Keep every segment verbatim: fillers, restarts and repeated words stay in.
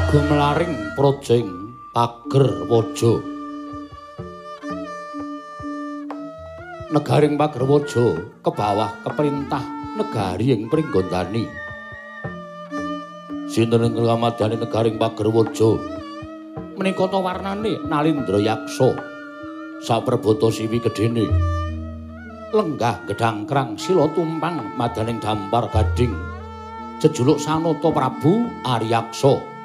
Gumlaring projeng pager waja. Negaring pager waja kebawah keperintah negari ing Pringgondani. Sinten ing kamadani negaring pager waja menika ta warnane Nalindra Yaksa. Saprabata siwi gedene. Lenggah gedang krang sila tumpang madaning dampar gading. Jejuluk Sanata Prabu Aryaksa.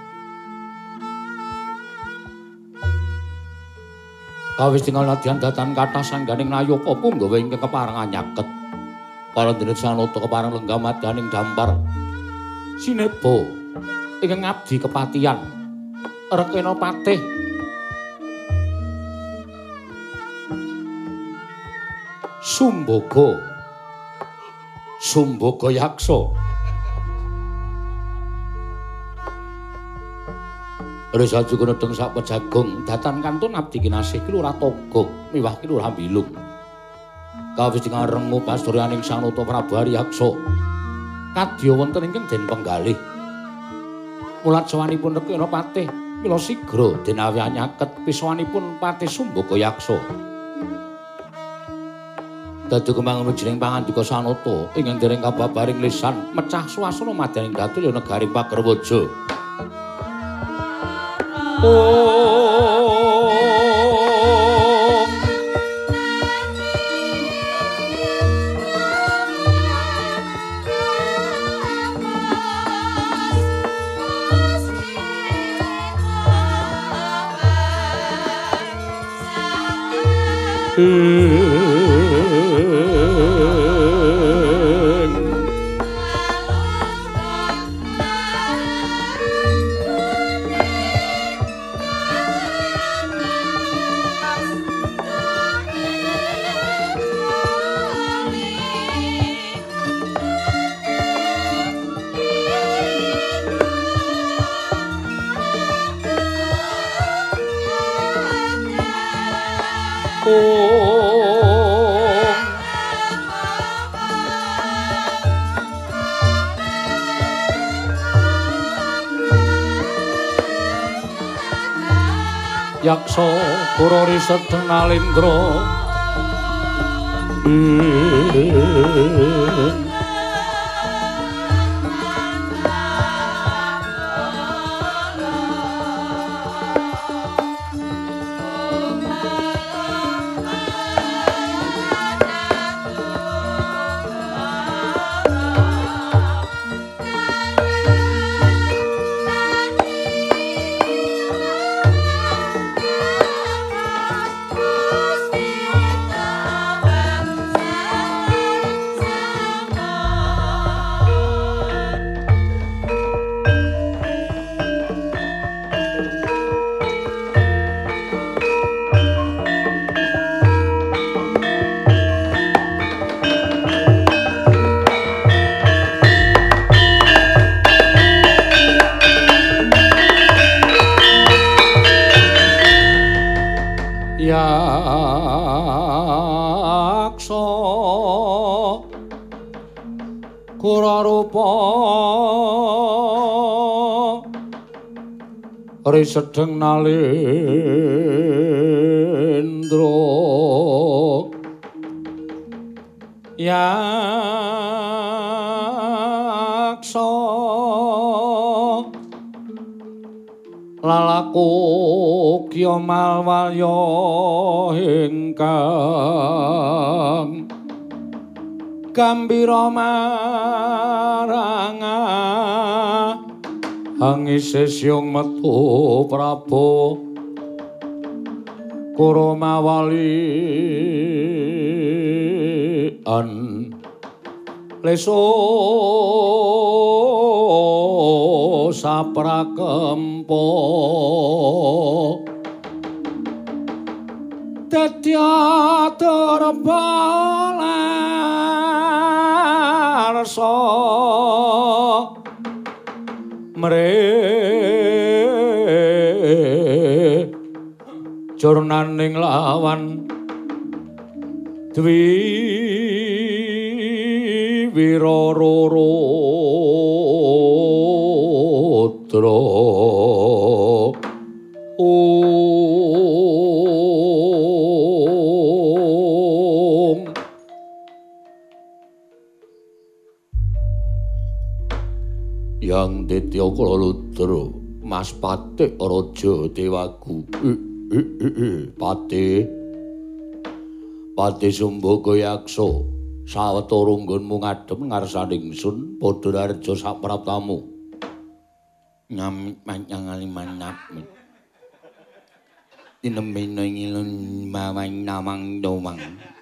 Kawis tinggal nadyan datan kathah sangganing nayaka punggawa ingkang keparengan nyaket. Parendining Sanata kepareng lenggah madaning dampar. Sineba ingkang ngabdi kepatihan. Rekena patih Sumbaga. Sumbaga Yaksa. Resa juga nedeng sak pejagong datan kantun abdi kinasih kilurah togo miwah kilurah bilung. Kawis dengan rengu pasturyaning Sanata Prabu Aryaksa kadya wonten ingkang den penggalih. Mulat sawanipun rekena patih mila sigra den awi anyaket piswanipun Patih Sumbaga Yaksa. Dadi kembangun wijining pangandika Sanata ingkang dereng kababaring lisan mecah swasana madaning datul ya negaring pager waja. Om Yaksa Kurari Sedeng Nalindra. Yaksa Kurarupa Ri Sedeng Nalindra. Yaksa lalaku kya malwaya ingkang gambira maranga angise syung metu Prabu Kuramawali an leso saprakempa dadya terbalarsa mre jurnaning lawan dwi wirarara putra Yang Ditya Kalaludra Mas Patih Raja Dewagu Patih Patih Sumbaka Yaksa sawetara nggonmu ngadhep ngarsaning ingsun padha narja sapraptamu nyamit panjang alimanap tinemena ngilun mawang namang domang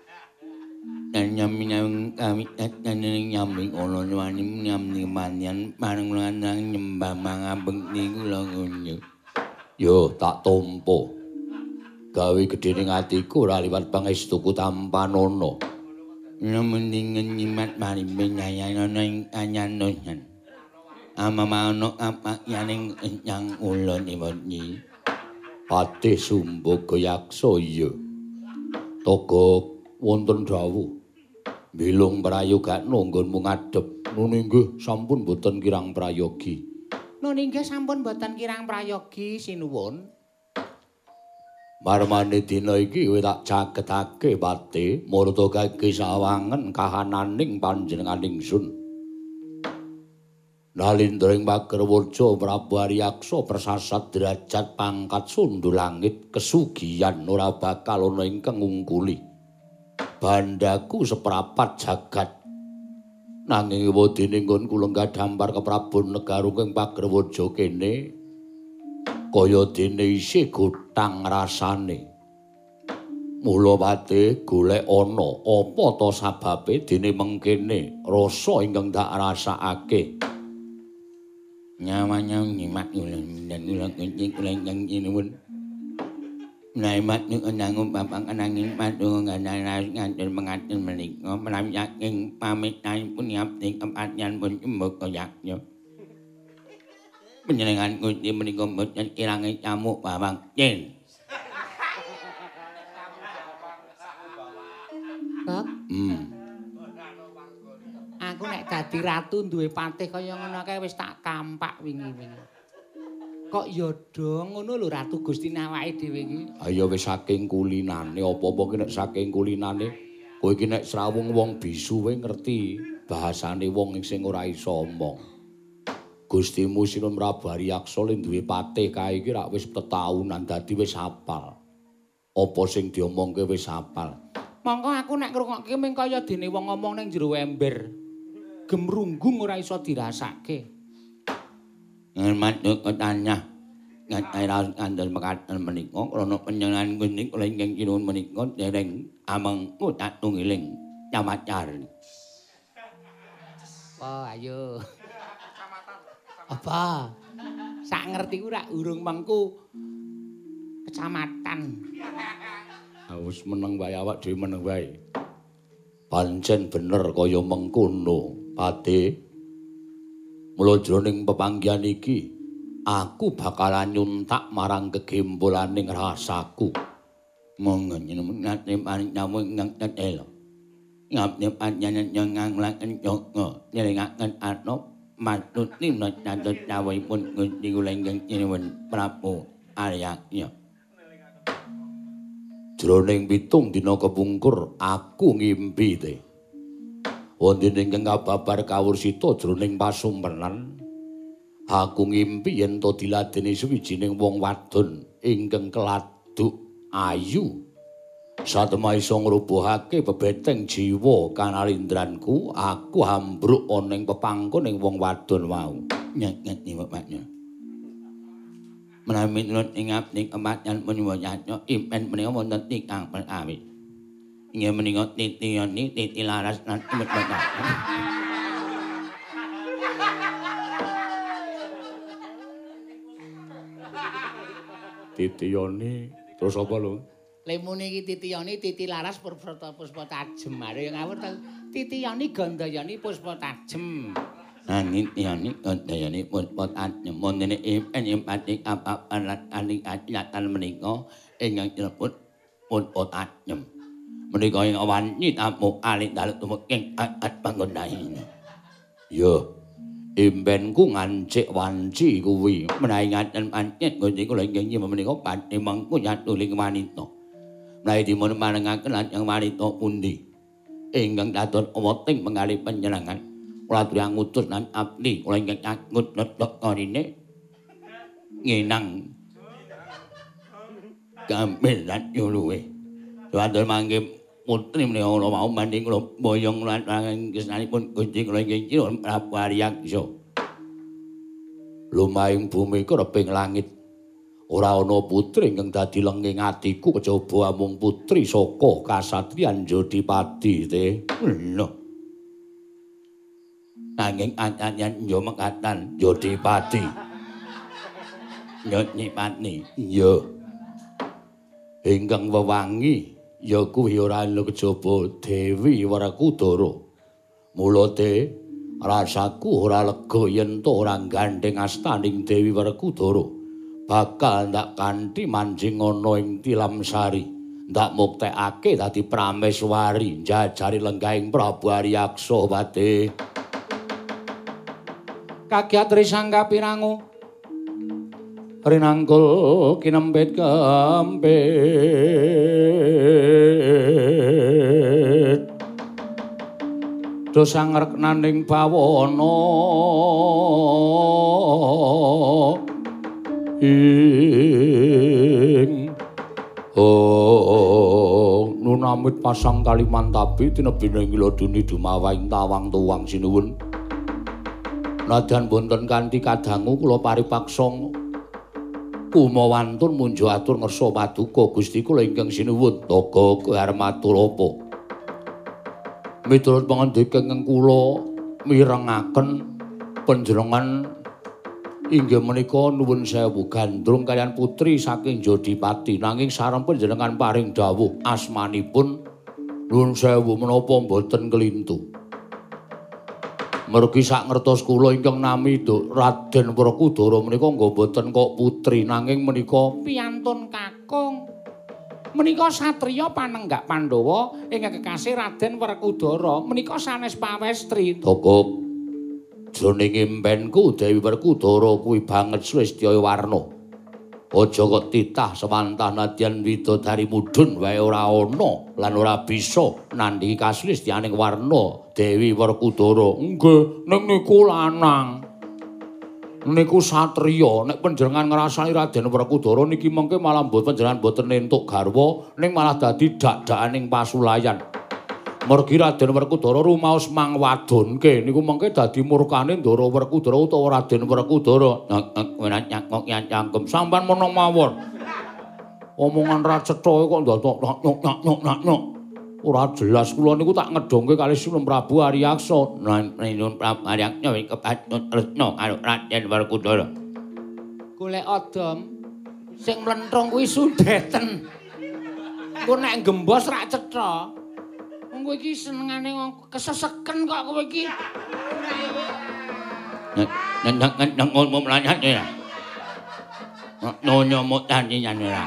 nyaming kami nyaming nyaming ana wani nyaming manyan marang lanang nyembah mangabeng niku lho ngono yo tak tampa gawe gedhening atiku ora liwat pangestuku tampanana mendingen nyimat marimbe nyayana ing anyanoyan amamana apa yaning nyang ulun iwani Patih Sumbaka Yaksa iya toga wonten dawuh bilung prayogakna nggonmu ngadhep nun inggih sampun boten kirang prayogi nun inggih sampun boten kirang prayogi sinuwun marmane dina iki kowe tak cagetake Patih marta kangge sawangen kahananing panjenenganing ingsun Nalindring Pagerwaja Prabu Aryaksa persasat derajat pangkat sundhu langit kesugihan ora bakal ana ingkang ngungkuli bandaku seprapat jagat nanging wedine nggonku lenggah dampar ke Prabu Negarunging Pagerwaja kene kaya dene isih gotang rasane mula Patih golek ana apa ta sababe dene mengkene rasa ingkang tak rasakake nyawanya nyimak ulang dan ulang kencing ulang yang inuun naimat nu enangum papang enangin padu ngadaras ngatur mengatur menikah melam yakin pamit naik pun yapting kempatnya pun cembuk koyaknya penyelengan kunci menikah dan kirangnya camuk babang jen Kok? Hmm. Aku nek dadi ratu duwe patih kaya ngono kae wis tak kampak wingi-wingi. Kok ya do ngono lho Ratu Gustine awake dhewe iki. Ha ya wis saking kulinane apa-apa ki nek saking kulinane kowe iki nek srawung wong bisu kowe ngerti bahasane wong sing ora iso omong. Gustimu Sinun Prabu Aryaksa le duwe patih kae iki rak wis tetaunan dadi wis hafal. Apa sing diomongke wis hafal. Monggo aku nek ngrungokke mung kaya dene wong ngomong ning jero ember. Gemrunggung ora iso dirasake. Ngurmat kotanya ngatairas kandel mekaten menika krana panjenengan kuning kula ingkang kinuwun menika dereng ameng utat tunggiling Camacar. Oh ayo. Apa? Sak ngertiku rak urung mengku kecamatan. Ah wis meneng wae awak dhewe meneng wae. Pancen bener kaya mengkono. Patih, mula jroning pepanggihan iki, aku bakalan nyuntak marang kegembolaning rasaku. Monggo nyenengake paring tamu ingkang tetela. Ngapne panjenengan yang nganglaken joko, nyelengaken atno matuti natut dawuhipun Gusti kula ingkang nyuwun Prabu Aryaksa. Jroning pitung dina kepungkur, aku ngimpi te. Wonten ingkang kababar kawursita jroning pasumpenan aku ngimpi yen to diladeni suwijining wong wadon ingkang keladuk ayu satemah isa ngrubuhake bebeteng jiwa kanalindranku aku ambruk ana ing pepangkoning wong wadon wau nyek-nyek bapaknya menawi nurut ing abdi kematian menika nyatya impen menika wonten ingkang perkawis inggih menika titiyani titi laras lan imut bapak. Titiyani terus apa lho? Lemune iki titiyani titi laras purprata puspa tajem. Are yang ngawur ta titiyani gandayani puspa tajem. Nanging tiyani gandayani puspa tajem. Montene impen impati apa-apa lan aning atlatan menika ingkang dilebet puspa tajem. Menika ing awan nyitamu alit dalem tumuking at panggondahi. Yo, impenku ngancik wanci kuwi menawi ngaten pancet Gusti kula inggih nyuwun menika badhe mengku nyatuling wanita. Menawi dipun marengaken lajeng wanita pundi ingkang dados weting penggalih panjenengan. kula aturi ngutus lan abdi kula ingkang nyangut netok ngarine ngenang gamel lan yuluwe Wanten mangke putri menika kula mau manding kula boyong lan kesnanipun Gusti kula ingkang Cira Prabu Aryaksa lumahing bumi kereping langit ora ana putri ingkang dadi lenging atiku kejaba amung putri saka kasatriyan Jodipati te lho nanging anyan yo mengatan Jodipati Nyipani iya ingkang wewangi ya kuwi ora ana kejaba Dewi Werkudara mula te rasaku ora lega yen to ora gandeng astaning Dewi Werkudara bakal ndak kanthi manjing ana ing Tilamsari ndak muktekake dadi prameswari njajari lenggahing Prabu Aryaksa pate kagiat risangga pirangu rinangkul kinempit kempit dosa ngreknaning bawana ing oh nunamit pasang Kalimantabi tinebine ngiloduni dumawahing tawang tuwang sinuwun nadyan wonten kanthi kadangu kula paripaksa kumawantun munjo atur ngersa paduka Gusti kula ingkang sinuwun toga keharmatur apa miturut pangandika ingkang kula mirengaken panjenengan inggih menika nuwun sewu gandrung kaliyan putri saking Jodipati nanging sareng panjenengan paring dawuh asmanipun nuwun sewu menapa mboten kelintu mergi sak ngertos kula ingkang nami Raden Werkudara menika nggo boten kok putri nanging menika piyantun kakung. Menika satriya panenggak Pandhawa ingkang kekasih Raden Werkudara menika sanes pawestri. Tokok jroning impenku Dewi Werkudara kuwi banget Swistya Warna. Aja kok titah sewantah nadyan widodari mudhun wae ora ana lan ora bisa nandhingi kasulistyaning Warna Dewi Werkudara. Nggih, ning niku lanang. Niku satriya, nek panjenengan ngrasani Raden Werkudara niki mengke malah mboten panjenengan mboten entuk garwa, ning malah dadi dak-dakaning pasulayan. Mergi Raden Werkudara rumaos mangwadonke niku mengke dadi murkane Ndara Werkudara utawa Raden Werkudara. Nyakok nyangkem sampean menawa mawon. Omongan ra cetha kok ndadok nyok-nyok-nyok. Ora jelas kula niku tak ngedhongke kalih Sunan Prabu Aryaksa. Nuwun Prabu Aryaksa kepatut tresna karo Raden Werkudara. Golek adom sing mlentrung kuwi sundeten. Engko nek gembos ra cetha. Kowe iki senengane keseseken kok kowe iki. Nang nang ngomong mlanyat ya. Nonyo mutani nyane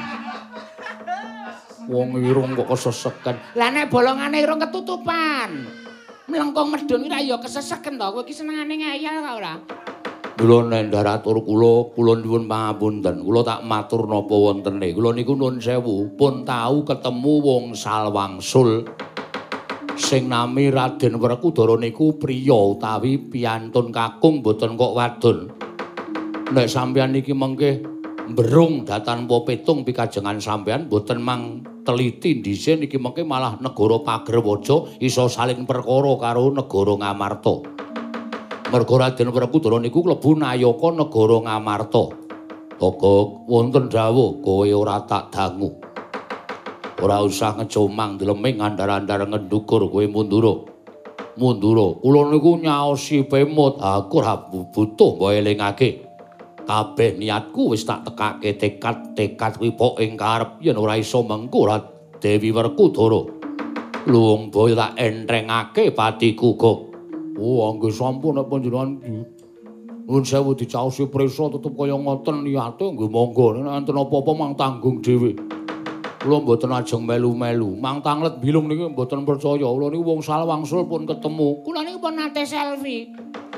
wong irung kok keseseken. Lah nek bolongane irung ketutupan. Mlengkung medhun ora ya keseseken to. Kowe iki senengane ngayal kok ora? Kula nendharatur kula, kula nyuwun pangapunten. Kula tak matur napa wontene. Kula niku nuwun sewu, pun tau ketemu wong salwangsul. Sing nami Raden Werkudara niku priya utawi piyantun kakung boten kok wadon. Nek sampeyan niki mengke mberung datanpa petung pikajengan sampeyan boten mang teliti dhisik niki mengke malah negara Pagerwaja iso saling perkara karo negara Ngamarta. Merga Raden Werkudara niku klebu nayaka negara Ngamarta. Togok wonten dawuh kowe ora tak dangu. Ora usah ngecomang dileming andar-andar ngendukur kowe mundura. Mundura, kula niku nyaosi pemut, aku ora butuh mbok elingake. Kabeh niatku wis tak tekake tekad-tekad kuwi pok ing karep yen ora iso mengko Dewi Werkudara. Luwung boyo tak entrengake patiku kok. Oh, nggih sampun nek panjenengan nuwun sewu dicaosi prisa tetep kaya ngoten niate nggih monggo nek enten apa-apa mang tanggung dhewe. Kula mboten ajeng melu-melu. Mang Tanglet Bilung niki mboten percaya. Kula niku wong salwangsul pun ketemu. Kula niku pun nate selfie.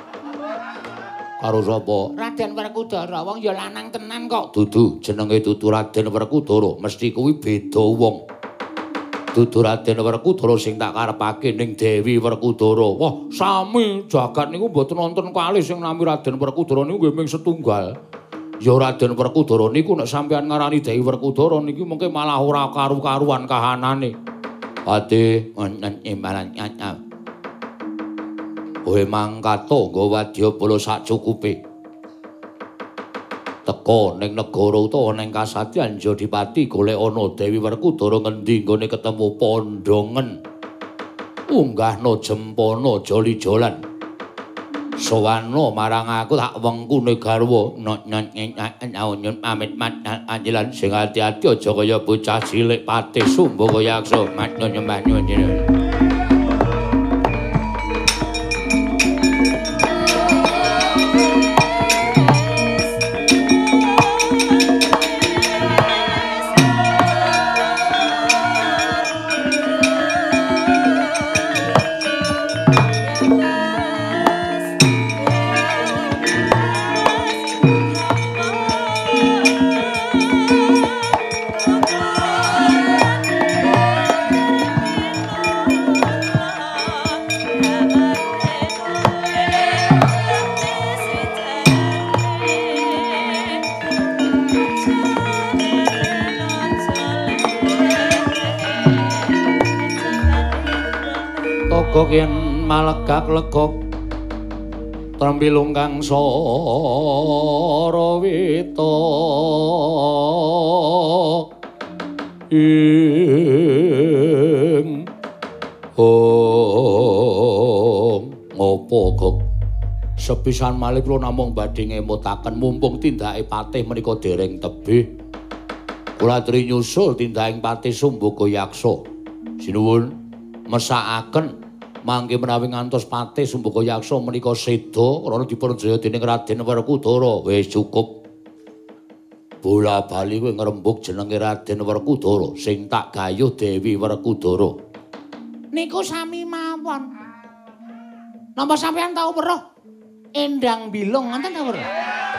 Karo sapa? Raden Werkudara. Wong ya lanang tenan kok. Dudu, jenenge dudu Raden Werkudara. Mesti kuwi beda wong. Dudu Raden Werkudara sing tak karepake ning Dewi Werkudara. Wah, sami jagat niku mboten wonten kalih sing nami Raden Werkudara niku nggih mung setunggal. Ya Raden Werkudara niku nek sampeyan ngarani Dewi Werkudara niki mengke malah ora karu-karuan kahanane. Ade wonten imbalan nyata. Kowe mangkato nggo wadyabala sacukupe. Teka ning negara utawa ning kasatriyan Jodipati golek ana Dewi Werkudara ngendi nggone ketemu pondongen. Unggahna jempana joli-jolan. Sowana marang aku tak wengkune garwa nyanyun pamit mat anjelan sing ati-ati aja kaya bocah cilik Patih Sumbaka Yaksa mat nyembah nyuwun. Yen malegak-legok trembilung kang sarawita ing om ngopo kok sepisan malih kula namung badhe ngemutaken mumpung tindake Patih menika dereng tebih kula aturi nyusul tindaking Patih Sumbaka Yaksa sinuwun mesakaken mangke menawi ngantos Patih Sumbaka Yaksa menika seda krana dipunjaya dening Raden Werkudara wis cukup. Bola bali kowe ngrembug jenenge Raden Werkudara sing tak gayuh Dewi Werkudara. Niku sami mawon. Napa sampeyan tau weruh Endang Bilung ngoten ta weruh?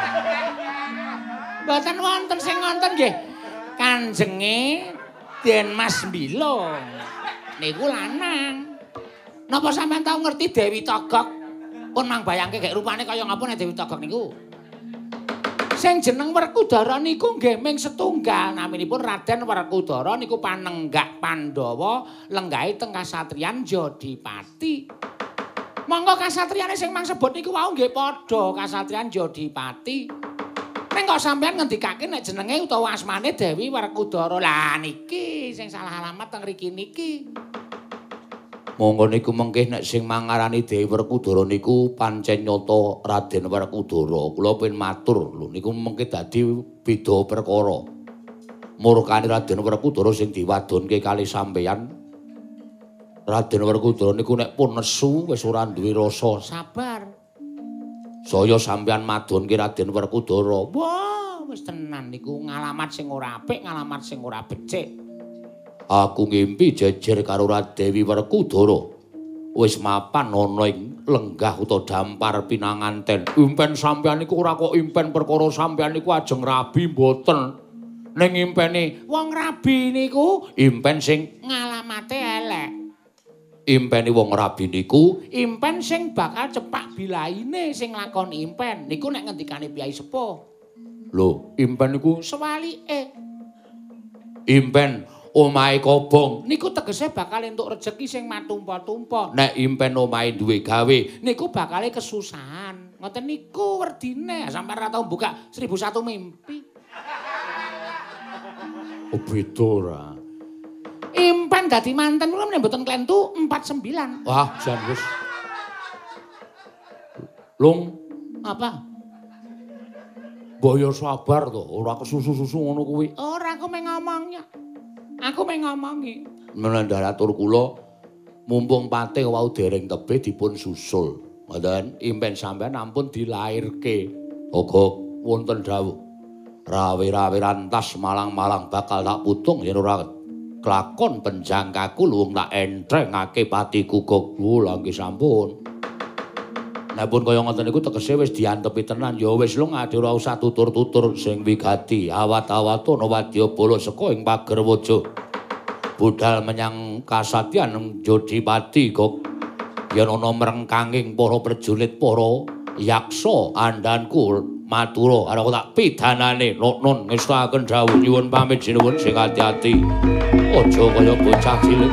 Mboten wonten sing ngoten nggih. Kanjenge Den Mas Bilung. Niku lanang. Napa sampean tau ngerti Dewi Togog? Pun mang bayangke gek rupane kaya ngapa nek Dewi Togog niku. Sing jeneng Werkudara niku nggih ming setunggal naminipun Raden Werkudara niku panenggak Pandhawa lenggahe teng kasatriyan Jodipati. Monggo kasatriyane sing mang sebut niku wau nggih padha kasatriyan Jodipati. Ning kok sampean ngendikake nek jenenge utawa asmane Dewi Werkudara. Lah niki sing salah alamat teng mriki niki. Monggo niku mengke nek sing mangarani Dewi Werkudara niku pancen nyata Raden Werkudara. Kula pun matur lho niku mengke dadi beda perkara. Murkane Raden Werkudara sing diwadonke kali sampeyan. Raden Werkudara niku nek pun nesu wis ora duwe rasa sabar. Saya sampeyan madonke Raden Werkudara. Wah, wis tenan niku ngalamat sing ora apik, ngalamat sing ora becik. Aku ngimpi jejer karo Radewi Werkudara wis mapan ana ing lenggah utawa dampar pinanganten. Impen sampeyan niku ora kok impen perkara sampeyan niku ajeng rabi mboten. Ning impene wong rabi niku impen sing ngalamate elek. Impene wong rabi niku impen sing bakal cepak bilaine sing lakoni impen. Niku nek ngendikane Piyai Sepuh. Lho, impen niku sewalike. Impen omahe kobong niku tegese bakal entuk rejeki sing matumpa-tumpa. Nek impen omahe duwe gawe niku bakal kesusahan. Ngoten niku werdine. Sampeyan ora tau buka seribu satu mimpi. Oh beda ora. Impen dadi manten kula menawa mboten klentu empat puluh sembilan. Wah, jan wis. Lung, apa? Boyo sabar to, ora kesusu-susu ngono kuwi. Ora aku meng ngomongnya. Aku meng ngomongi. Menandhar atur kula mumpung Patih wau dereng tebih dipun susul. Ngoten, impen sampean ampun dilairke. Uga wonten dawuh. Rawe-rawe rantas malang-malang bakal tak putung yen ora kelakon penjangkaku luwung tak entrengake patiku kok. Lha nggih sampun. Nek pun kaya ngoten niku tegese wis diantepi tenan ya wis lho ngade ora usah tutur-tutur sing wigati awat-awatono wadyabala saka ing pager waja. budal menyang kasatyan Jodipati kok yen ana mrengkanging para prajurit para yaksa andhanku matura ana tak pidanane non ngestakaken dawuh nyuwun pamit sinuwun sing ati-ati aja kaya bocah cilik.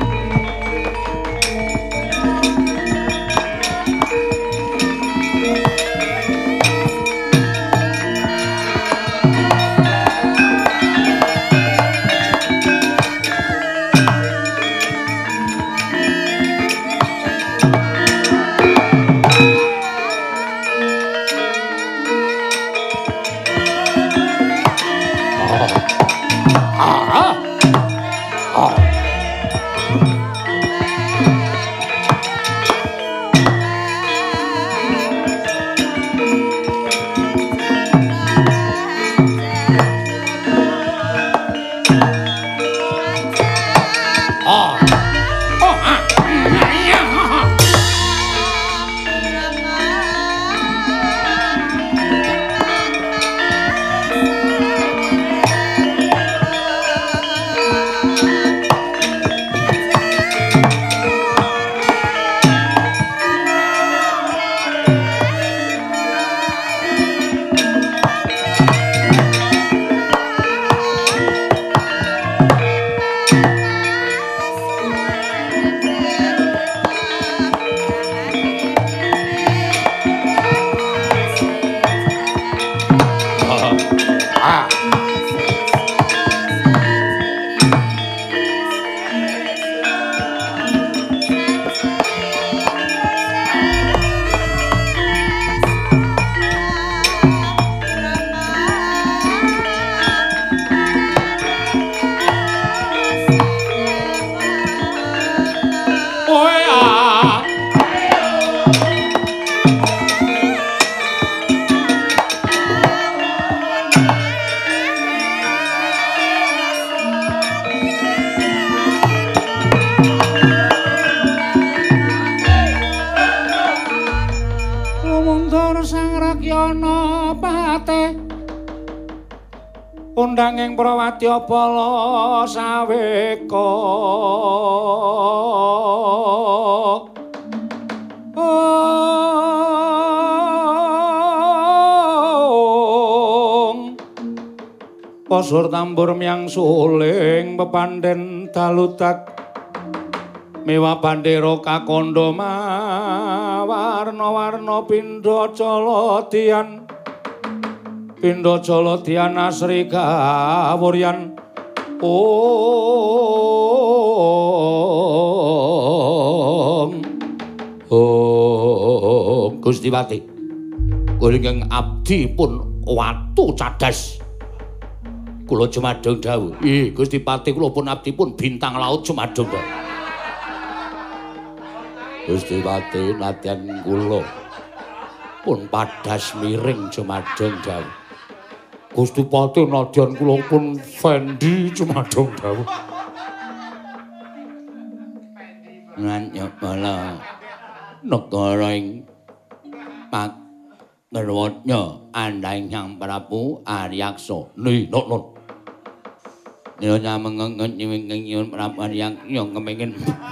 Undanging Prawadya Bala saweka Pasur tambur miang suling pepandhen daludak miwa bandera kakandha warna-warna pindha caladian Pindha Caladian asri kawuryan Om Om Gusti Pati kula ingkang abdi pun watu cadas kula jumadhong dawuh ih Gusti Pati kula pun abdi pun bintang laut jumadhong dawuh Gusti Pati nadyan kula pun padas miring jumadhong dawuh Gusti Pati nadyan kula pun Fendi jumadhong dawuh. Nganyapala negara ing Pagerwatnya andhaing Hyang Prabu Aryaksa. Ni non non. Nyonya mengengen nyuwun Prabu Aryaksa kepengin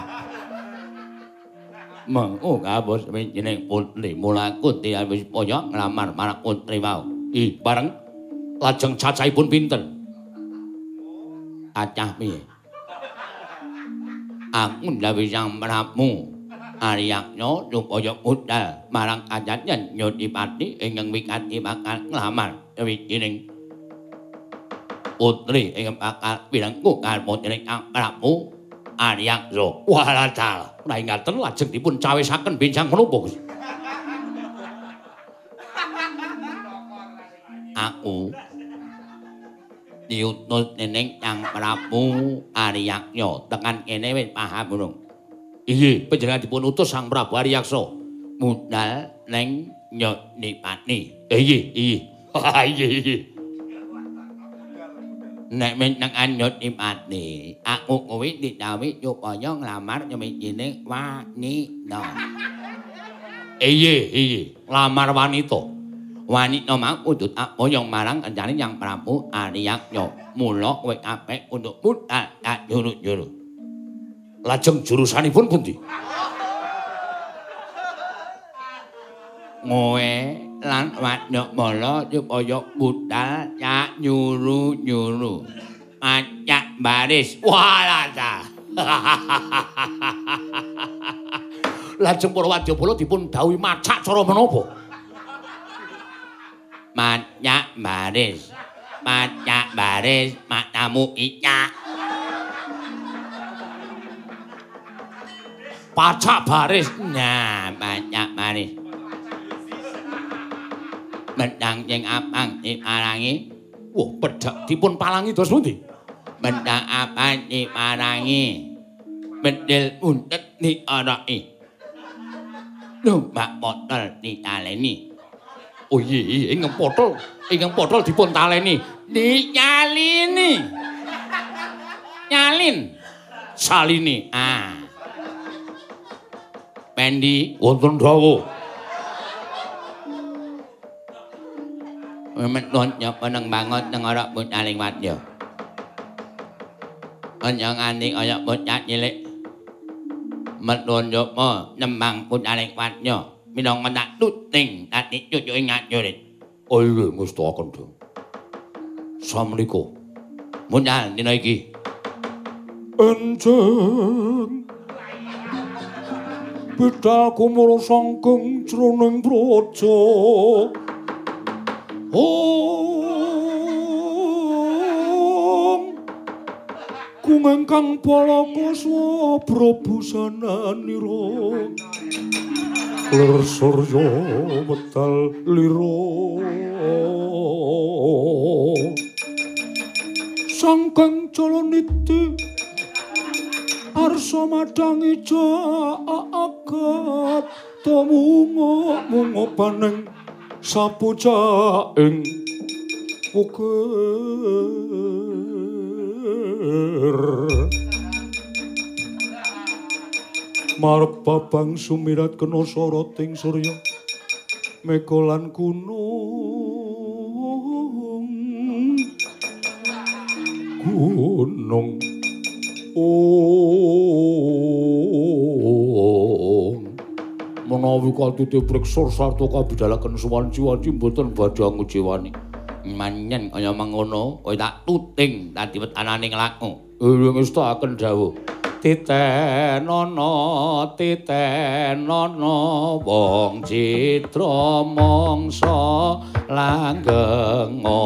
mengko kabos jeneng putri mula Kunti wis poyo nglamar marang putri mau. Ih bareng lajeng cacahipun pinten? Acah piye? Aku ndhawuhi Sang Prabu Aryaksa supaya budal marang kajayan Jodipati ingkang wigati bakal nglamar wijining putri ingkang bakal pirengku kalih dening Sang Prabu Aryaksa. Walacal, ora ngaten lajeng dipun cawisaken benjang menapa, Gus? Aku diutus dening Sang Prabu Aryaksa tekan kene wis paham burung. Iye, panjenengan dipun utus Sang Prabu Aryaksa budal ning Jodipati. Iye, iye. Iye, iye. Nek meneng Jodipati, aku kuwi didhawuhi supaya nglamar wijining wanita. Iye, iye, lamar wanita. Wanita mau kudu apoyong marang kanjane Sang Prabu Aryaksa. Mula kowe apik untuk budal tak juru-juru. Lajeng jurusanipun pundi? Ngoe lan wadya mala supaya budal nyak nyuru-nyuru. Acak baris. Walah ta. Lajeng para wadyabala dipun dhawuhi macak cara menapa? Macak baris. Macak baris matamu icak. Pacak baris. Nah, pacak baris. Bendang sing apang diparangi. Wah, pedhak dipun palangi dos pundi? Bendang apang diparangi. Bedil untet diaraki. Numpak potol ditaleni. Oh iya, ingkang potol, ingkang potol dipun taleni. Dinyalini. Nyalin. Salini. Ah. Pendi wonten dawuh. Memet nyapa nang bangot nang ora putaling wadya. Aja nganti kaya bocah cilik. Metun nyapa nembang putaling wadya. Minangka tak tuting dadi cucuke ngajurit. Oh iya ngestaken, Dong. Samrika. Muncal dina iki. Enjing. Bedhaku mula sangking jroning praja. Om kumengkang palakaswa prabusananira ler surya metal lira sangkeng calaniti arsa madangi jagat tamungo-mungo paneng sapuja ing ukir marep babang sumirat kena soroting surya mega lan gunung gunung oh menawi katute preksur sarta kabidalaken suwanci-wanci mboten badhe ngujiwani. Manyen kaya mangono, kowe tak tuting dadi wetananing laku. Iya ngestaken dawuh. Titenana, titenana wong citra mangsa langgenga.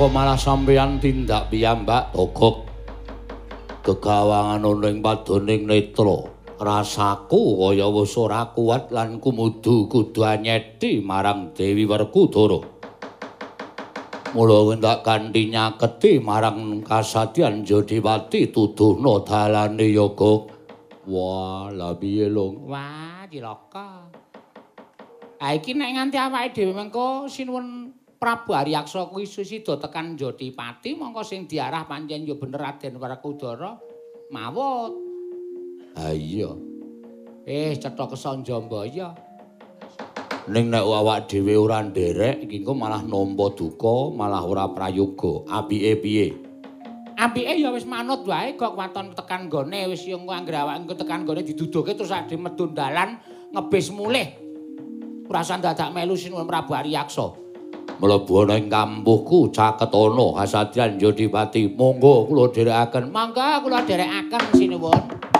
kok malah sampeyan tindak piyambak Togok. Kegawangan ana ing padoning netra. Rasaku kaya wis ora kuat lan kumudu kudu anyeti marang Dewi Werkudara. Mula wendak kanthi nyaketi marang kasadyan Jodiwati tuduhna dalane yoga. Wah, la piye lho? Wah, cilaka. Ha iki nek nganti awake dhewe mengko sinuwun Prabu Haryaksa kuwi sida tekan Jodipati mongko sing diarah pancen ya bener Raden Werkudara mawut. Ha iya. Eh cetha Kesanjambaya. Ning nek awak dhewe ora nderek iki engko malah nampa duka, malah ora prayoga. Apike piye? Apike ya wis manut wae kok waton tekan nggone wis ya engko anggere awake engko tekan nggone diduduhke terus ade medun dalan ngebis mulih. Ora usah dadak melu sinuwun Prabu Haryaksa. Mlebu ana ing kampuhku caketana kasadyan Jodipati. Monggo kula dherekaken. Mangga kula dherekaken sinuwun.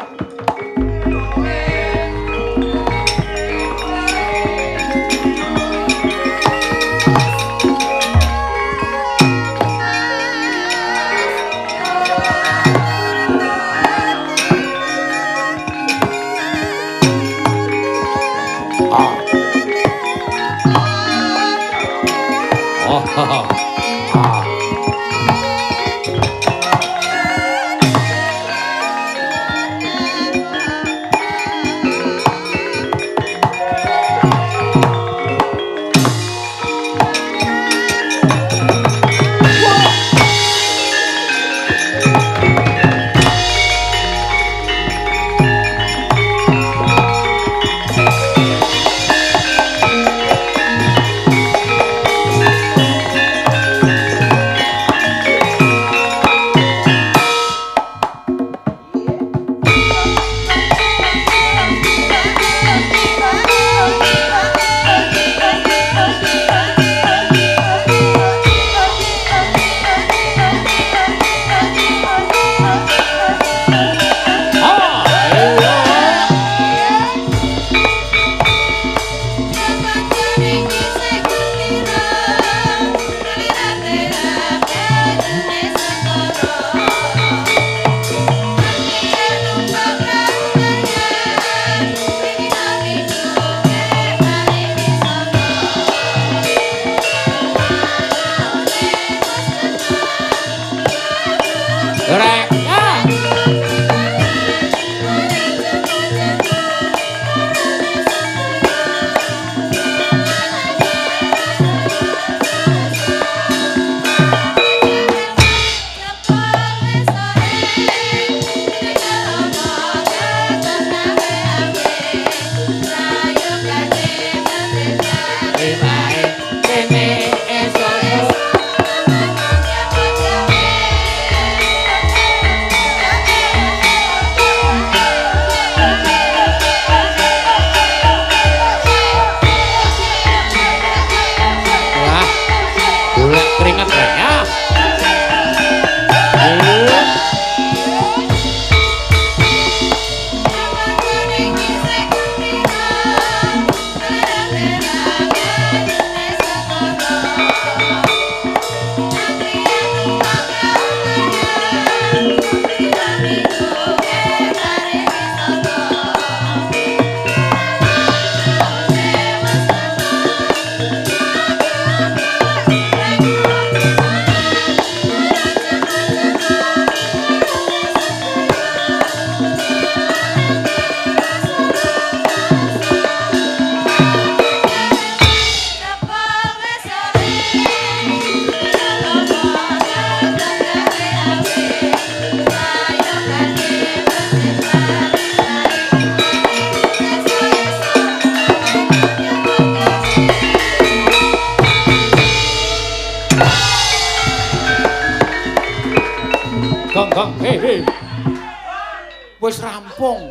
Wis rampung.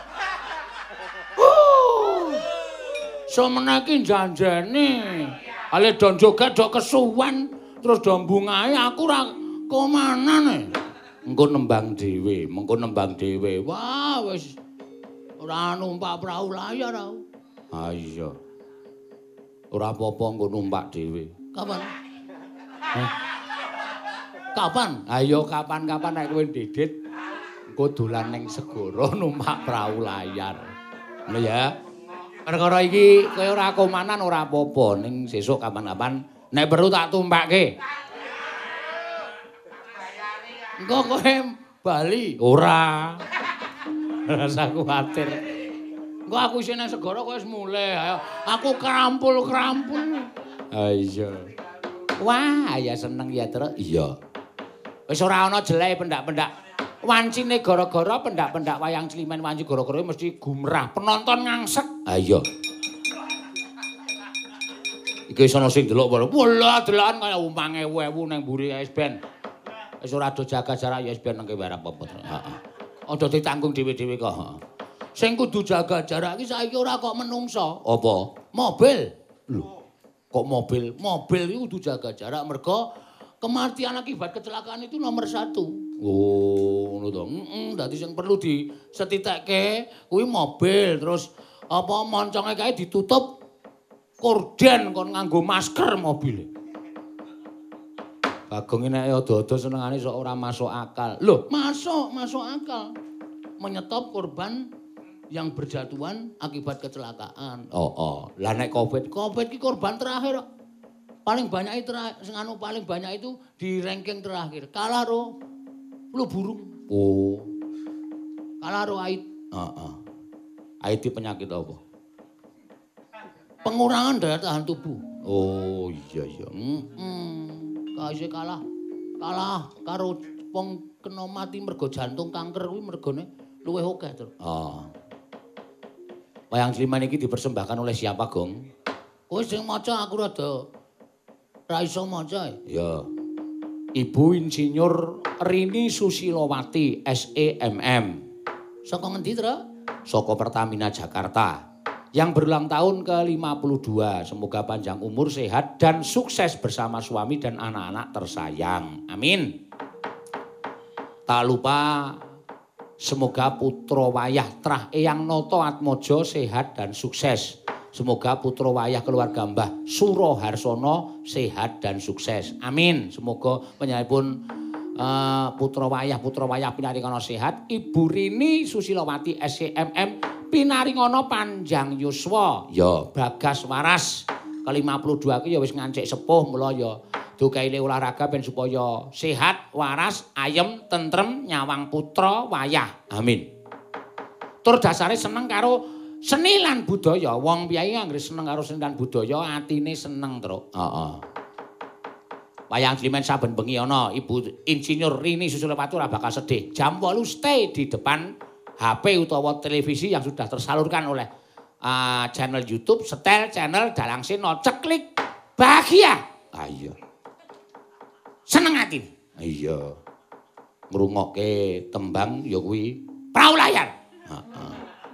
Uh, semana iki janjane. Ale don joget dok kesuwen terus do mbungahe aku ora komanane. Engko nembang dhewe, mengko nembang dhewe. Wah, wis ora numpak prau layar aku. Ah iya. Ora apa-apa engko numpak dhewe. Kapan? Hah? Kapan? Ayo kapan-kapan nek kowe ndedit engko dolan ning segara numpak prau layar. Ngono ya. Perkara iki kowe ora komanan ora apa-apa ning sesuk kapan-kapan nek perlu tak tumpakke. Engko kowe bali. Ora. Rasa kuwatir. Engko aku isih nang segara kowe wis mulih. Ayo aku krampul-krampul. Ha iya. Wah, ya seneng ya, Truk. Iya. Wis ora ana jelek pendak-pendak. Wancine gara-gara pendak-pendak wayang Cilimen wanci gara-gara mesti gumrah, penonton ngangsek. Ha iya. Iki wis ana sing delok wae. Walah, delokan kaya umpang ewu ewu ning mburi wis ben. Wis ora do jaga jarak ya wis ben nang kene apa apa. Heeh. Aja ditanggung dhewe-dhewe kok. Sing kudu jaga jarak iki saiki ora kok menungso. Apa? Mobil. Lho. Kok mobil? Mobil itu kudu jaga jarak mergo kematian akibat kecelakaan itu nomor satu. Oh, ngono to. Heeh, dadi sing perlu disetitekke kuwi mobil, terus apa monconge kae ditutup korden kon nganggo masker mobil. Bagong iki nek ada-ada senengane sok ora masuk akal. Loh, masuk, masuk akal. Menyetop korban yang berjatuhan akibat kecelakaan. Oh, oh. Lah nek Covid, Covid ki korban terakhir. Paling banyak itu sing anu paling banyak itu di ranking terakhir. Kalah ro flu burung. Oh. Kalah ro A I D. Heeh. A I D penyakit apa? Pengurangan daya tahan tubuh. Oh, iya iya. Heeh. Kaise kalah. Kalah karo wong kena mati mergo jantung kanker kuwi mergone luwih akeh, Tru. Oh. Wayang Ciliman iki dipersembahkan oleh siapa, Gong? Kowe sing maca aku rada ra iso maca. Ya. Ibu Insinyur Rini Susilowati S E M M. Saka ngendi, Tru? Saka Pertamina Jakarta. Yang berulang tahun ke lima puluh dua. Semoga panjang umur, sehat, dan sukses bersama suami dan anak-anak tersayang. Amin. Tak lupa semoga putra wayah Trah Eyang Noto Atmojo sehat dan sukses. Semoga putra wayah keluarga Mbah Suro Harsono sehat dan sukses. Amin. Semoga penyalipun uh, putra wayah putra wayah pinaringono sehat. Ibu Rini Susilowati S E M M pinaringono panjang yuswa. Ya, Bagas waras ke lima puluh dua ki ya wis ngancik sepuh mula ya dukaile olahraga ben supaya sehat, waras, ayem, tentrem, nyawang putra wayah. Amin. Tur dasare seneng karo seni lan budaya. Wong piyai anggere seneng karo seni lan budaya, atine seneng, Truk. Heeh. Wayang Cilimen saben bengi ana Ibu Insinyur Rini Susilowati ora bakal sedih. Jam wolu stay di depan H P utawa televisi yang sudah tersalurkan oleh uh, channel YouTube, setel channel Dalang Sena, ceklik bahagia. Ah iya. Seneng ati. Iya. Ngrungokke tembang ya kuwi prau layar. Heeh.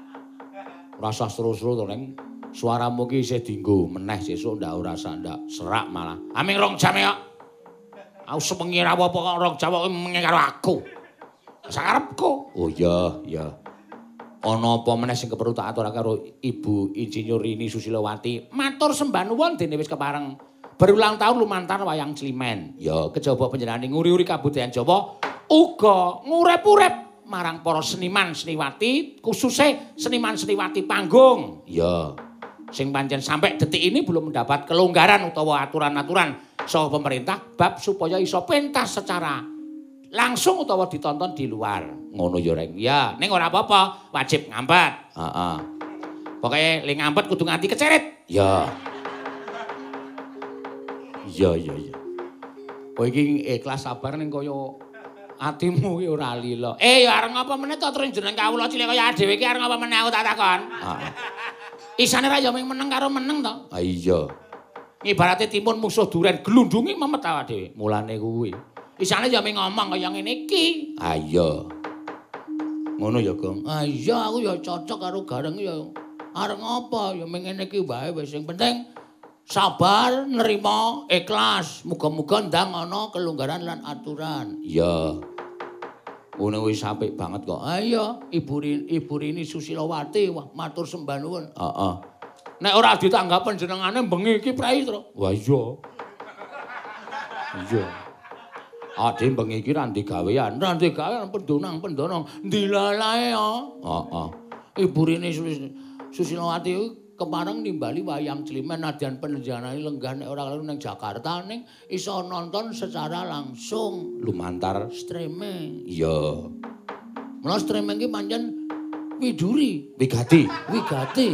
Rasa seru-seru to Neng. Suaramu ki isih dienggo meneh sesuk ndak ora ndak serak malah. Aming rong jam ya. Aku sepengi ra apa kok rong jam kok mengi karo aku. Sakarepku. Oh iya, iya. Ana apa meneh sing keperlu tak aturake karo Ibu Insinyur Rini Susilowati. Matur sembah nuwun dene wis kepareng berulang tahun lumantar wayang Cilimen. Ya, kejaba panjenengane nguri-uri kabudayan Jawa uga ngurip-urip marang para seniman seniwati, khususnya seniman seniwati panggung. Ya. Sing pancen sampai detik ini belum mendapat kelonggaran utawa aturan-aturan saka pemerintah bab supaya iso pentas secara langsung utawa ditonton di luar. Ngono ya, Reng. Ya, ning ora apa-apa, wajib ngampet. Heeh. Pokoke ling ngampet kudu nganti kecerit. Ya. Iya, iya, iya. Kowe iki ikhlas sabar ning kaya atimu ki ora lila. Eh, ya areng apa meneh to terus jeneng kawula cilik kaya dhewe iki areng apa meneh aku tak takon. Heeh. Isane ra ya mung meneng karo meneng to. Ha iya. Ibarate timun musuh duren glundungi memet awake dhewe. Mulane kuwi. Isane ya mung ngomong kaya ngene iki. Ha iya. Ngono ya, Gong. Ah iya aku ya cocok karo gareng ya. Areng apa ya mung ngene iki wae wis sing penting sabar, nerima, ikhlas. Muga-muga ndang ana kelonggaran lan aturan. Iya. Ngono wis apik banget kok. Ah iya, Ibu Rini, Ibu Rini Susilowati, wah matur sembah nuwun. Heeh. Nek ora ditanggap panjenengane bengi iki prei, Tru. Wah iya. Iya. Ade bengi iki ra ndek gawean, ra ndek gawean pendonang-pendonang dilalae ya. Heeh. Ibu Rini Susilowati kemareng nimbali wayang Climen nadyan penjenengan lenggah nek ora keliru ning Jakarta ning iso nonton secara langsung lumantar streaming. Iya. Mula streaming ki pancen widuri, wigati, wigati.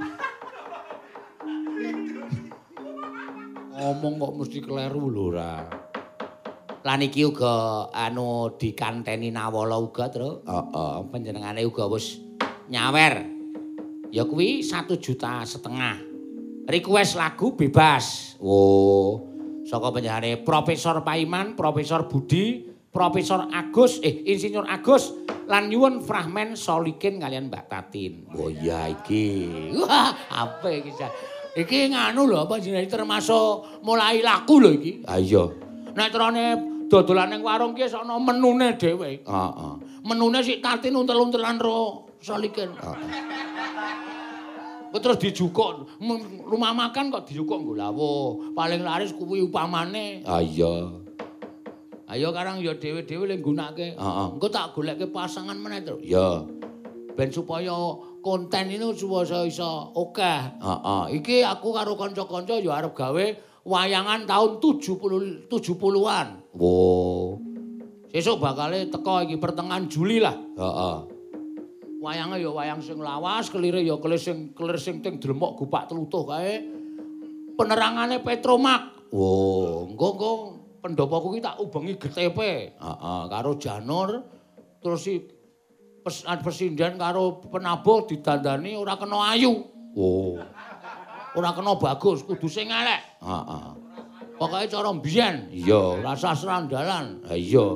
Ngomong kok mesti kleru lho ra. Lan iki uga anu dikanteni Nawala uga, Tru. Heeh, panjenengane uga wis nyawer. Ya kuwi satu juta setengah. Request lagu bebas. Oh, saka panjenengane Profesor Paiman, Profesor Budi, Profesor Agus, eh Insinyur Agus lan nyuwun fragmen Solikin kalian Mbak Tatin. Oh iya iki. Wah, apa iki? Iki nganu lho apa jenenge termasuk mulai laku lho iki. Ha iya. Nek terane dodolan ning warung ki ana menune dhewe. Heeh. Menune sik Tatin untel-untelan ro Solikin. Heeh. Terus dijukuk rumah makan kok dijukuk nggo lawuh. Paling laris kuwi upamane. Ha iya. Ayo karang ya dhewe-dhewe le nggunakake. Heeh. Engko tak goleke pasangan meneh, Tru. Iya. Ben supaya konten ini supaya iso akeh. Heeh. Iki aku karo kanca-kanca ya arep gawe wayangan tahun tujuh puluh tujuh puluhan. Oh. Sesuk bakale teko iki pertengahan Juli lah. Heeh. Wayange ya wayang sing lawas, kelire ya kelir sing kelir sing ting dremok gupak telutuh kae. Penerangane Petromak. Oh, engko engko pendopo kuwi tak ubengi G T P. Heeh, karo Janur terus si pes, Presiden karo penabuh didandani ora kena ayu. Oh. Ora kena bagus, kudu sing elek. Heeh. Pokoke cara mbiyen. Iya, rasa serandalan. Ha iya.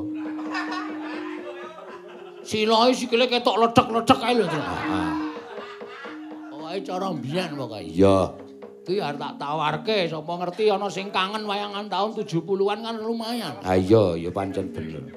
Siloe sikile ketok lecek-lecek kae lho, Tru. Heeh. Pokoke cara mbiyen pokoke. Iya. Kuwi arep tak tawarke, sapa ngerti ana sing kangen wayangan tahun tujuh puluhan kan lumayan. Ha iya, ya pancen bener.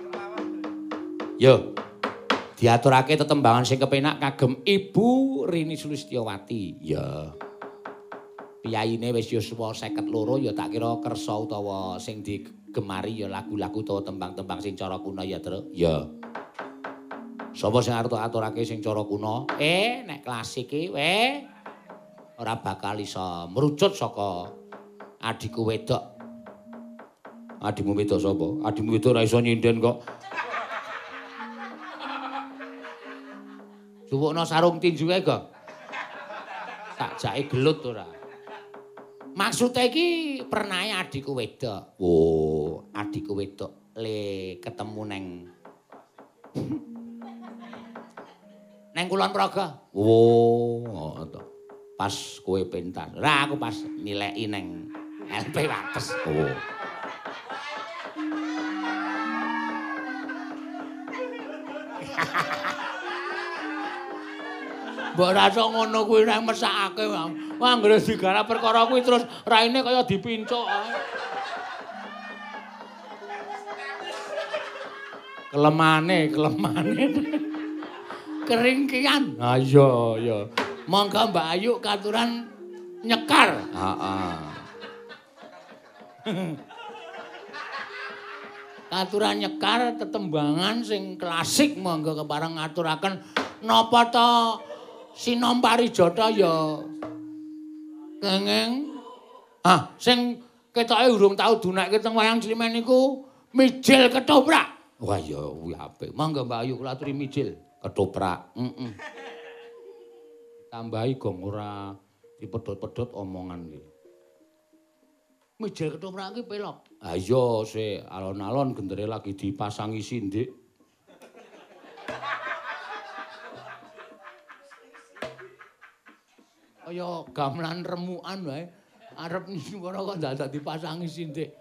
Yo. Diaturake tetembangan sing kepenak kagem Ibu Rini Sulistyowati. Ya. Piyaine wis yo suwa seket loro ya tak kira kersa utawa sing digemari ya lagu-lagu utawa tembang-tembang sing cara kuna ya, Tru. Ya. Sapa sing arep aturake sing cara kuna? Eh, nek klasik iki weh ora bakal iso merucut saka adikku wedok. Adikmu wedok sapa? Adikmu wedok ora iso nyinden kok. Suwukna sarung tinju kae, Gong. Tak jake gelut ora. Maksudnya iki pernahe adikku wedok. Oh, adikku wedok le ketemu neng neng Kulon Progo. Oh, oh to. Pas kowe pentas. Lah aku pas nileki neng L P Wates. Oh. Mbok rasa ngono kuwi nek mesakake, Bang. Wah, anggere digarap perkara kuwi terus raine kaya dipincuk ae. Kelemane, kelemane. Keringkian. Ha iya, iya. Monggo Mbak Ayu katuran nyekar. Heeh. Katuran nyekar tetembangan sing klasik monggo kepareng ngaturaken napa to Sinom Parijata ya kenging. Ah, sing ketoke urung tau dunekke teng wayang Climen niku mijil ketoprak. Wah ya kuwi apik. Monggo Mbak Ayu kula aturi mijil Ketoprak. Heeh. Tambahi gong ora dipedhot-pedhot omongan iki. Mijil ketoprak iki pelok. Ha iya, sik alon-alon gendere lagi dipasangi sindik. Kaya gamelan remukan wae. Arep nyuwara kok dadak dipasangi sindik.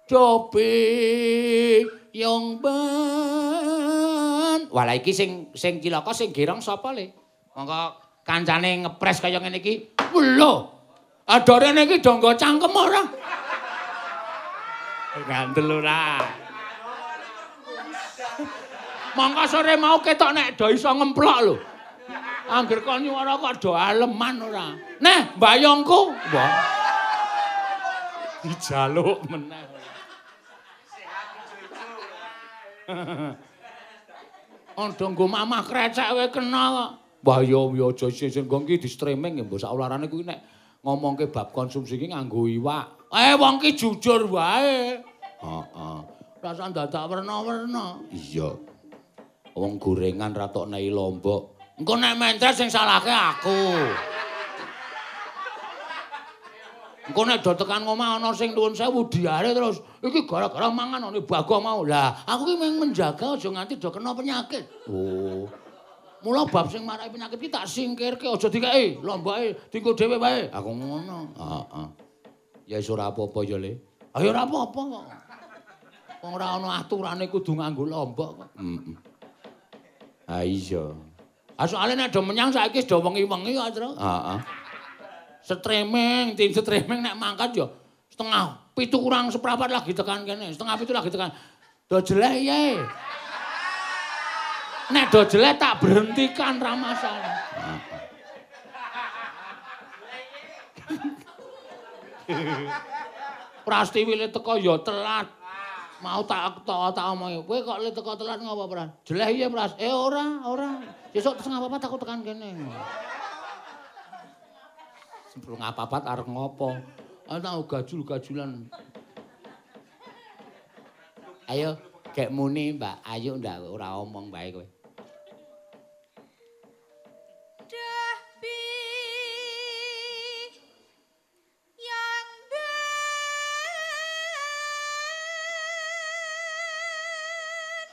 Cobi yang ban. Walah iki sing sing cilaka sing gerong sapa le? Monggo kancane ngepres kaya ngene iki. Lho. Adorene iki do nggo cangkem ora? Gandel ora. Monggo sore mau ketok nek do iso ngemplok lho. Angger kon nyuwara kok do aleman ora. Neh, mbayongku. Wah. Dijaluk meneh. Anda nggo mamah krecek wae kena kok. Wah ya ya aja sing nggo iki di streaming ya mbok sak ularane kuwi nek ngomongke bab konsumsi iki nganggo iwak. Eh wong ki jujur wae. Heeh. Rasa dadak werna-werna. Iya. Wong gorengan ra tok nei lombok. Engko nek mentres sing salahke aku. Engko nek do tekan omah ana sing nuwun sewu diare terus iki gara-gara mangan ane Bagong mau. Lah, aku ki mung menjaga aja nganti do kena penyakit. Oh. Mula bab sing marai penyakit ki tak singkirke aja dikeki, lomboke dienggo dhewe wae. Aku ngono. Heeh. Ya wis ora apa-apa ya, Le. Ah ya ora apa-apa kok. Wong ora ana aturane kudu nganggo lombok kok. Heeh. Ha iya. Ah soalé nek do menyang saiki wis do wengi-wengi kok, Tru. Heeh. Streaming, tim streaming nek mangkat ya setengah pitu kurang seprapat lagi tekan kene, setengah pitu lagi tekan. Do jelek ye. Nek do jelek tak berhentikan ra masalah. Prastiwi le teko ya telat. Mau tak tak tak omongi. Kowe kok le teko telat ngopo, Pras? Jelek ye, Pras. Eh ora, ora. Sesuk setengah papat aku tekan kene. Sebelum apa-apa arep ngopo? Ana gajul-gajulan. Ayo, gek muni, Mbak. Ayo ndak ora omong bae kowe. Dahbi yang ben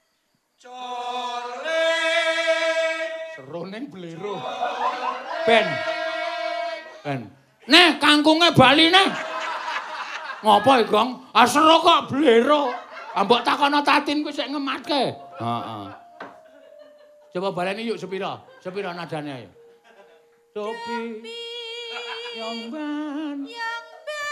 Corle seroning blero. Ben. Ben. Nih kangkunge Bali nih. Ngopo iki, Gong? Ah sero kok blero. Ah mbok takono tatin kuwi sik ngematke. Heeh. Coba baleni yuk sepira? Sepira nadane ayo. Topi yang ban. yang ben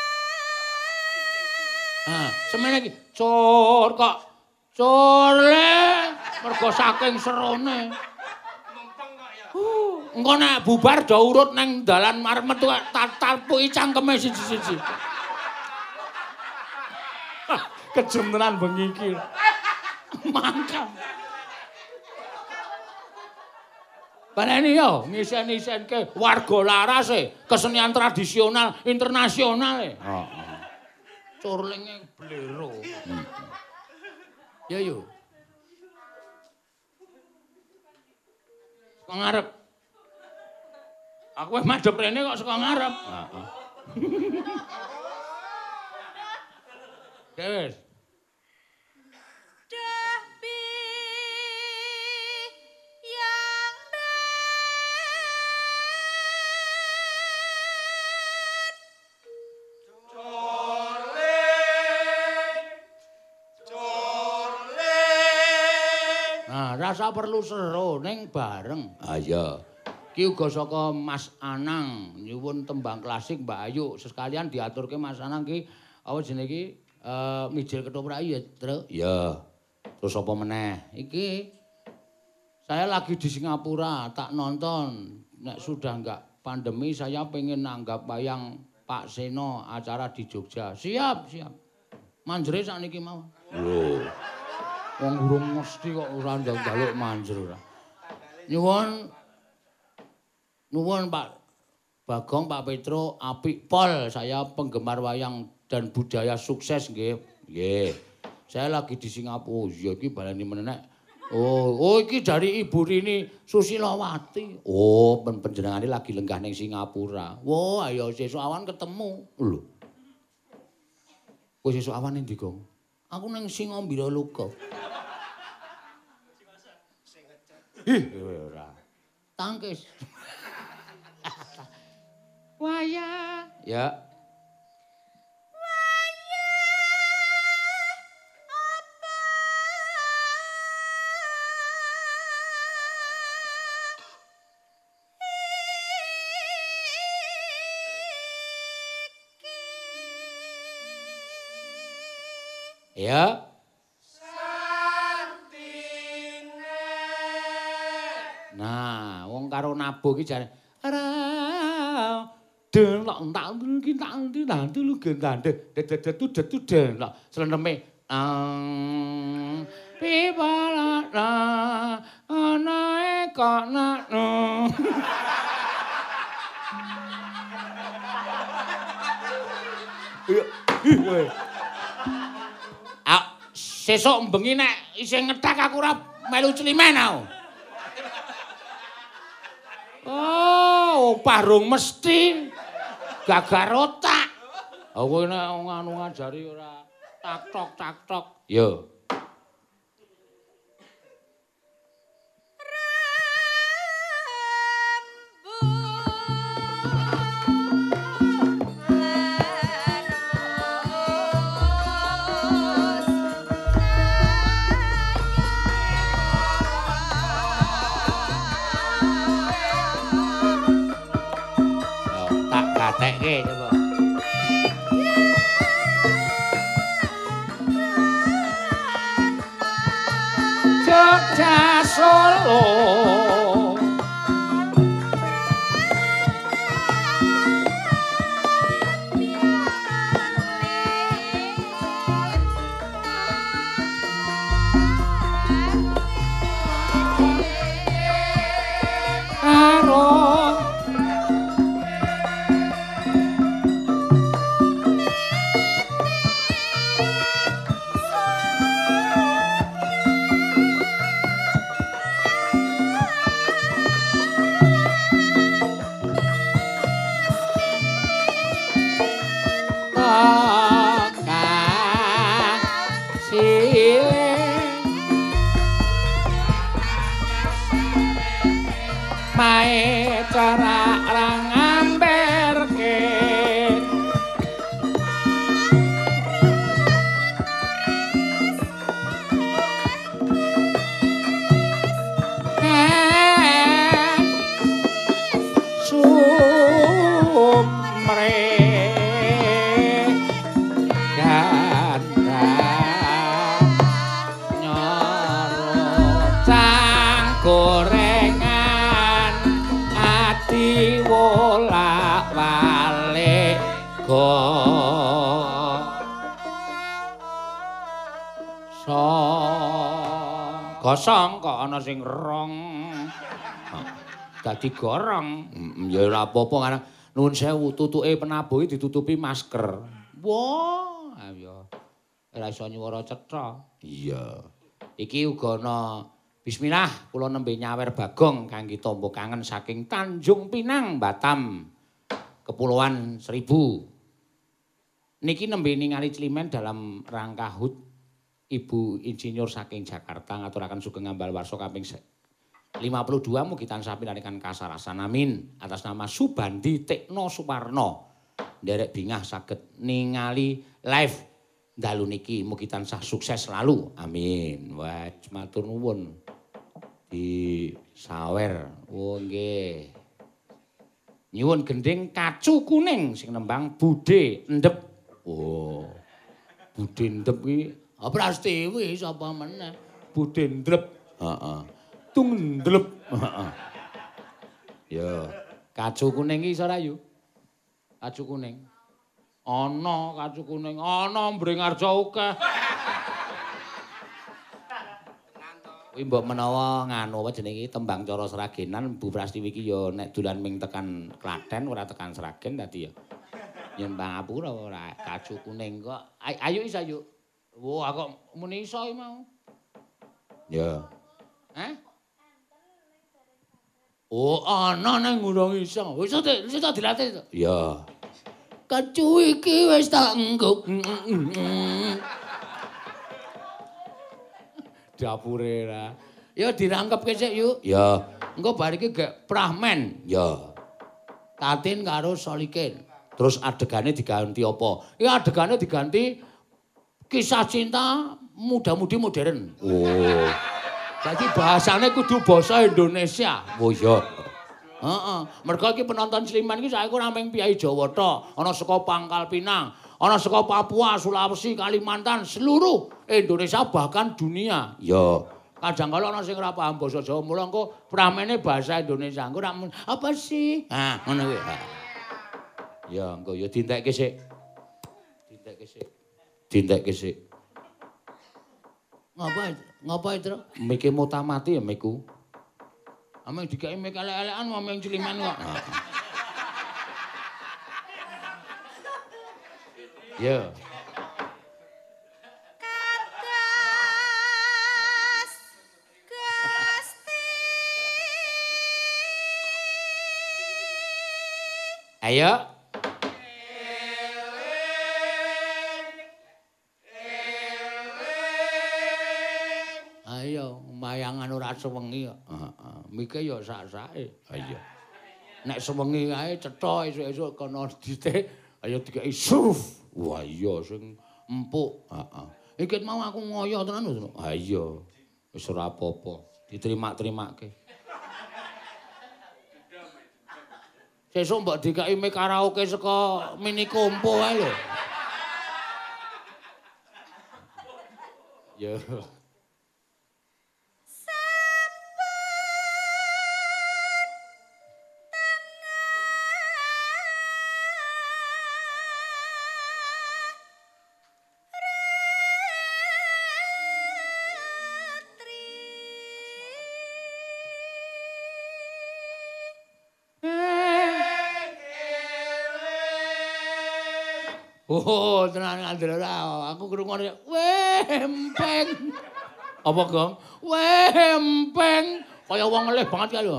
Ah, semene iki. Cur kok. Curle. Mergo saking serone. Engko nek bubar do urut nang dalan marep metu tak talpuki cangkeme siji-siji. Kejem tenan bengi iki. Mangkam. Baleni yo ngisen-isenke warga larase, kesenian tradisional internasional e. Heeh. Curlinge blero. Ya yo. Kok ngarep? Aku wis madhep rene kok saka ngarep. Heeh. Wis. Dahbi yang Nah, rasa perlu sero ning bareng. Ah iya. Ki uga saka Mas Anang nyuwun tembang klasik Mbak Ayu. Sekalian diaturke Mas Anang ki apa jenenge iki eh mijil ketoprak ya, Tru? Iya. Terus apa meneh? Iki saya lagi di Singapura, tak nonton. Nek sudah enggak pandemi saya pengen nanggap wayang Pak Seno acara di Jogja. Siap, siap. Manjere sakniki mau. Lho. Wong urung mesti kok ora njaluk manjer ora. Nyuwun nuwun Pak Bagong, Pak Petro, apik pol. Saya penggemar wayang dan budaya sukses nggih. Nggih. Saya lagi di Singapura. Ya iki baleni menenek. Oh, oh iki dari Ibu Rini Susilawati. Oh, pen panjenengane lagi lenggah ning Singapura. Wah, ayo sesuk awan ketemu. Lho. Kowe sesuk awan ndi, Gong? Aku ning Singambira Luka. Ih, ora. Tangkis. Wayah. Ya. Ya. Nah, wong karo nabuh iki jare ara den lak entak iki tak nanti lu gendande dedet dedet den lak sleneme ang pibalana anae kanano. Ah, sesuk bengi nek isih ngethak aku ora melu climen aku. Oh, parung mesti gagar otak. Aku nek nganu ngajari ora tak tok tak tok. Yo. Gatekke coba. Jogja Solo gosong kok ana sing rong. Dadi gorong. Ya ora apa-apa karena nuwun sewu tutuke penabuhe ditutupi masker. Wah, ya ora iso nyuwara cetha. Iya. Iki uga ana bismillah kula nembe nyawer Bagong kangge tamba kangen saking Tanjung Pinang, Batam, Kepulauan Seribu. Niki nembe ningali Climen dalam rangka H U D Ibu Insinyur saking Jakarta ngaturaken sugeng ngambal warsa kaping lima puluh dua mugi tansah pinarikan kasarasan amin atas nama Subandi Tekno Suparno nderek bingah saged ningali live dalu niki mugi tansah sukses selalu amin. Wah matur nuwun di sawer. Oh nggih. Nyuwun gending kacu kuning sing nembang Bude Endep. Oh. Bude Endep iki Prastiwi sapa meneh? Bude Ndrep. Heeh. Tung ndlep. Heeh. Ya, kacu kuning iki iso rayu. Kacu kuning. Ana kacu kuning, ana Mbringarja akeh. Kuwi mbok menawa nganu apa jenenge tembang cara Sragenan Bu Prastiwi iki ya nek dolan ming tekan Klaten ora tekan Sragen dadi ya. Yen Pangapura ora kacu kuning kok. Ayo isa yuk. Wah, kok muni iso mau. Ya. Hah? Oh, ana nang ngurung iso. Wis wis tak dilatih to. Ya. Kacu iki wis tak engguk. Dapure ra. Ya dirangkepke sik yuk. Ya. Engko bar iki gek prahmen. Ya. Tatin karo solikin. Terus adegane diganti apa? Ya adegane diganti kisah cinta muda-mudi modern. Oh. Jadi bahasane kudu basa Indonesia. Oh iya. Heeh. Mergo iki penonton Sliman iki saiki ora mung piyai Jawa tok, ana saka Pangkal Pinang, ana saka Papua, Sulawesi, Kalimantan, seluruh Indonesia bahkan dunia. Iya. Kadang-kala ana sing ora paham basa Jawa, mula engko pramene bahasa Indonesia. Engko ora apa sih? Ah, ngono kuwi. Ya, engko ya dintekke sik. Dintekke sik. Dintekke sik. Ngapa? Ngapa itu? Mike mutamati ya miku. Ameng dikai mik elek-elekan ameng ciliman kok. Ya. Kados Gusti. Ayo. Ayo, mayangan ora sewengi kok. Heeh. Mike ya sak-sake. Ha iya. Nek sewengi ae cetha esuk-esuk kono dite, ayo dikai suruf. Wah iya sing empuk. Heeh. Iki mau aku ngoyo tenan lho. Ha iya. Wis ora apa-apa. Diterima-terimake. Sesuk mbok dikai mik karaoke saka Mini Kompo ae lho. Ya. Oh, tenan Andra ora. Aku krungone wempeng. Apa, Gong? Wempeng. Kaya wong ngelih banget kae lho.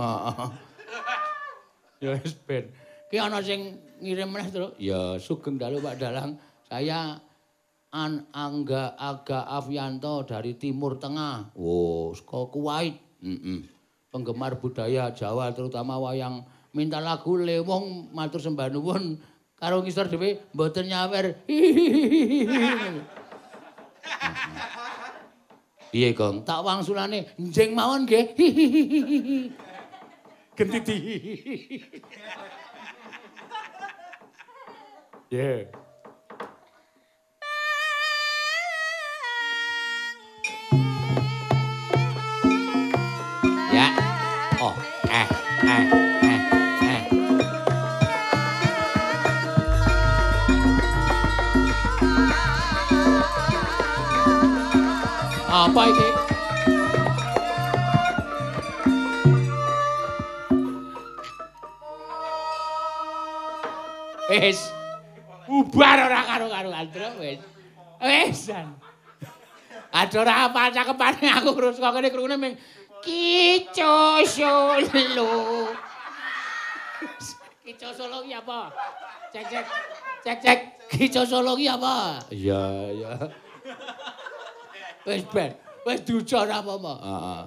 Ya wis ben. Ki ana sing ngirim meneh, Tru. Ya, sugeng dalu Pak Dalang. Saya An Angga Aga Avianto dari Timur Tengah. Oh, saka Kuwait. Heeh. Penggemar budaya Jawa terutama wayang minta lagu Lewong matur sembah nuwun. Karo ngisor dhewe mboten nyawer. Piye, Gong? Tak wangsulane njing mawon nggih. Gentiti. Yeah. Ya. Oh, eh, eh. Apa iki? Wis. Bubar ora karo-karoan, Tru, wis. Wisan. Ada ora apa cakepane aku terus kok kene krungune ming Kico Solo. Kico Solo ki apa? Cek cek. Cek cek. Kico Solo ki apa? Iya, iya. Wis ben, wis duca ora apa-apa. Heeh.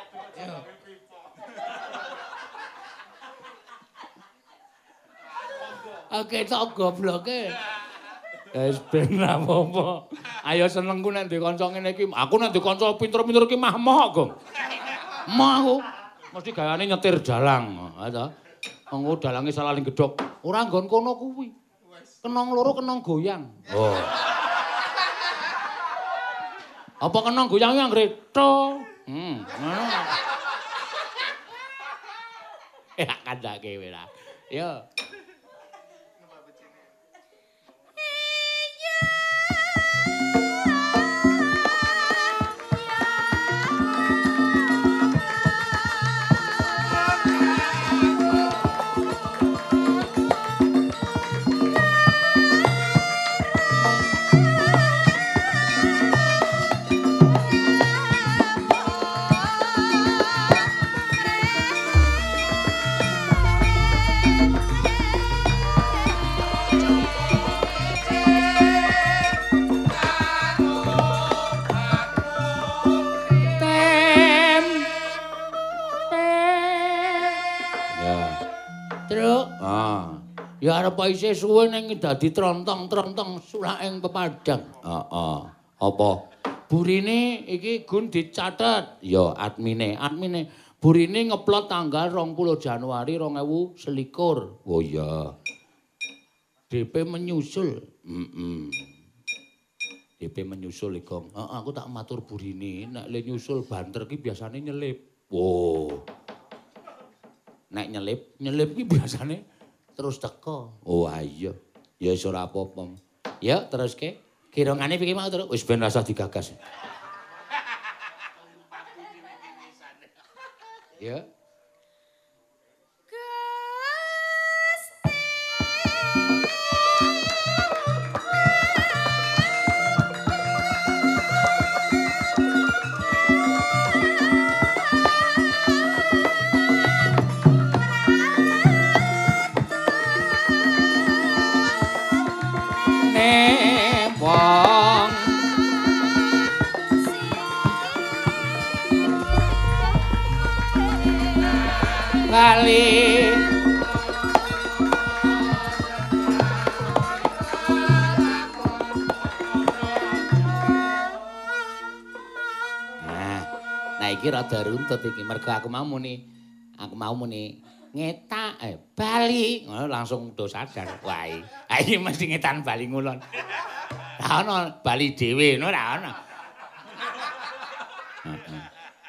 Oke, tok gobloke. Wis ben apa-apa. Ayo senengku nek ndek kanca ngene iki. Aku nek ndek kanca pinter-pinter iki mah moh, Gong. Moh aku. Mesti gaweane nyetir dalang. Ha ta. Wong dalange salaling gedhok. Ora nggon kono kuwi. Kenong loro kenong goyang. Oh. Apa kenong goyang yang reto? Hmm, ngono. Ya kandhake kowe lah. Yo. Ya arep isih suwe ning dadi trontong-trontong sulaking pepadang. Heeh. Apa? Burine iki gun dicatet. Ya admine, admine. Burine ngeplot tanggal rong puluh Januari rong ewu selikur. Oh iya. D P menyusul. Heeh. D P menyusul iki. Heeh, aku tak matur burine nek le nyusul banter ki biasane nyelip. Oh. Nek nyelip, nyelip ki biasane terus teko. Oh iya. Ya wis ora apa-apa. Ya teruske. Kirangane piye mau terus wis ben rasa digagas. Ya. Wong lali nah nah iki rada runtut iki mergo aku mau muni aku mau muni ngetak eh bali ngono langsung do sadar wae ha iki mesti ngetan bali ngulon. Ra ono bali dhewe ngono ra ono. Heeh.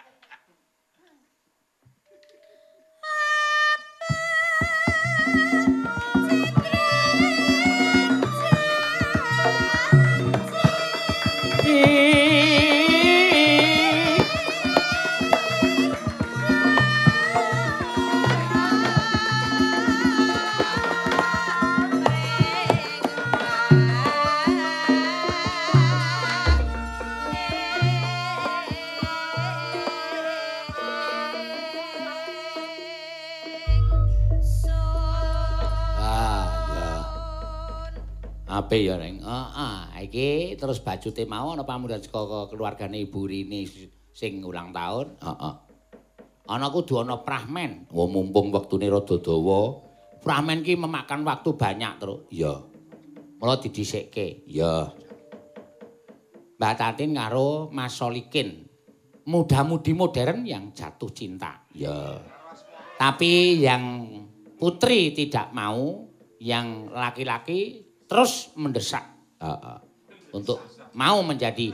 Ape ya Reng. Heeh, iki terus bajute mau ana pamundutan saka keluargane Ibu Rini sing ulang tahun. Heeh. Ana kudu ana prahmen. Wah mumpung wektune rada dawa, prahmen ki memakan waktu banyak terus. Iya. Mula didhisikke. Iya. Mbak Tatin karo Mas Solikin. Muda-mudi modern yang jatuh cinta. Iya. Tapi yang putri tidak mau, yang laki-laki terus mendesak uh, uh, untuk mau menjadi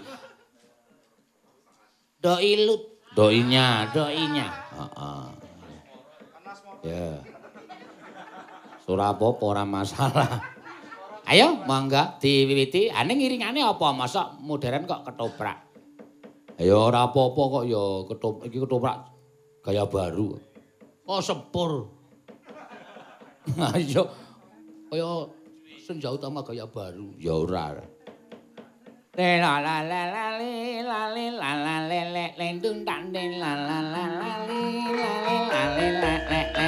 doi lut, doinya, doinya. Uh, uh. Ya. Yeah. Surah apa ora masalah. Ayo, mangga diwiwiti. Ane ngiringane apa? Masa modern kok ketoprak. Ayo ora apa-apa kok ya ketoprak iki ketoprak gaya baru. Oh sepur. Ayo. Kaya Senja Utama gaya baru. Ya ora. Le la la la la le la le la la le le lendung tak den la la la la le la le la le le le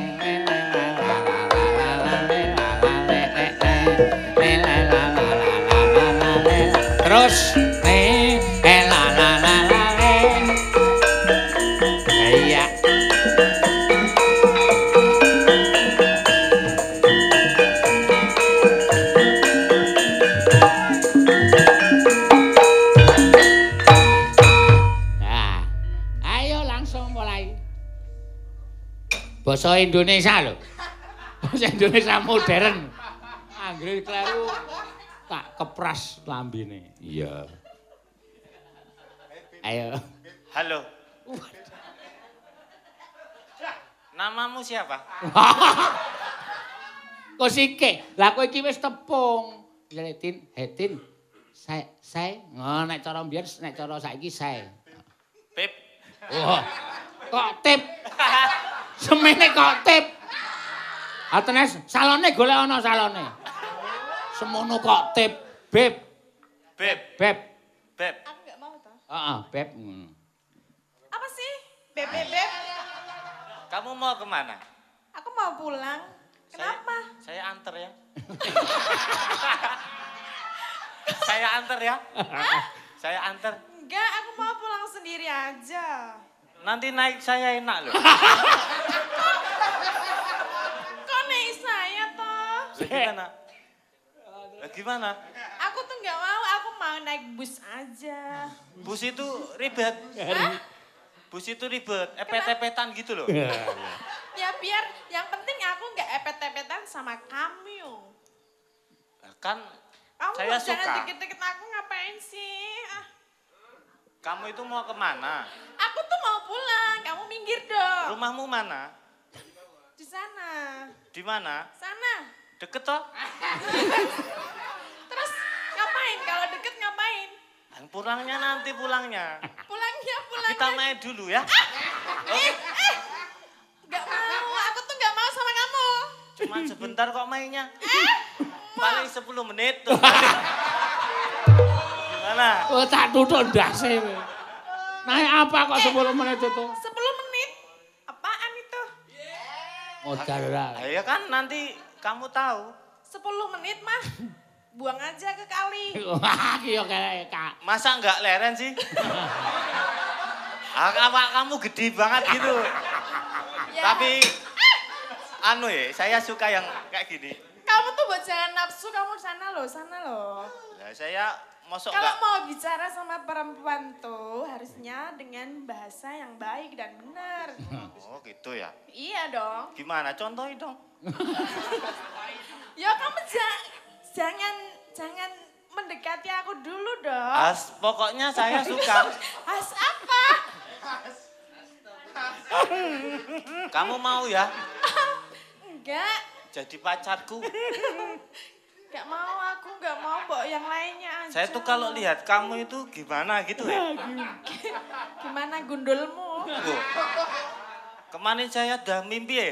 le terus le la la la la le iya. Basa Indonesia lho. Basa Indonesia modern. Anggere kleru tak kepras lambene. Iya. Ayo. Halo. Namamu siapa? Kok sike? Lah kowe iki wis tepung. Tin, Hetin. Saya saya oh, nek cara mbiyen nek cara saiki saya. Pip. Wah. Kok tip? Semene kok tip. Atenes salone golek ana salone. Semono kok tip, Beb. Beb. Beb. Beb. Aku nggak mau toh. Heeh, Beb. Apa sih? Beb, beb, beb. Kamu mau kemana? Aku mau pulang. Kenapa? Saya, saya anter ya. Saya anter ya. Saya anter. Enggak, aku mau pulang sendiri aja. Nanti naik saya enak loh. Kok naik saya toh? Gimana? Gimana? Aku tuh nggak mau, aku mau naik bus aja. Bus itu ribet. Hah? Bus itu ribet, epet-epetan gitu loh. Ya biar yang penting aku nggak epet-epetan sama kamu. Kan Kamu saya jangan suka. deket-deket aku ngapain sih? Ah. Kamu itu mau kemana? Aku tuh mau pulang, kamu minggir dong. Rumahmu mana? Di sana. Di mana? Sana. Deket toh? Terus ngapain? Kalau deket ngapain? Pulangnya nanti pulangnya. Pulangnya, pulangnya. Kita main dulu ya. Eh, eh, Cuma sebentar kok mainnya. Paling sepuluh menit tuh. Gimana? Oh, tak tutuk ndase. Naik apa kok sepuluh menit itu? sepuluh menit? Apaan itu? Modal lah. Ya kan nanti kamu tahu. sepuluh menit mah. Buang aja ke kali. Wah, ki yo Kak. Masa enggak leren sih? Apa kamu gede banget gitu. Ya. Tapi anu ya, saya suka yang kayak gini. Kamu tuh buat jangan nafsu, kamu sana loh, sana loh. Nah, saya mosok Kalau enggak. mau bicara sama perempuan tuh harusnya dengan bahasa yang baik dan benar. Oh gitu ya. Iya dong. Gimana? Contohin dong. Ya kamu ja- jangan jangan mendekati aku dulu dong. As, pokoknya saya suka. As apa? Kamu mau ya Enggak, jadi pacarku? enggak mau aku, enggak mau mbok yang lainnya aja. Saya tuh kalau lihat kamu itu gimana gitu ya. Gimana gundulmu? Loh, kemarin saya udah mimpi ya.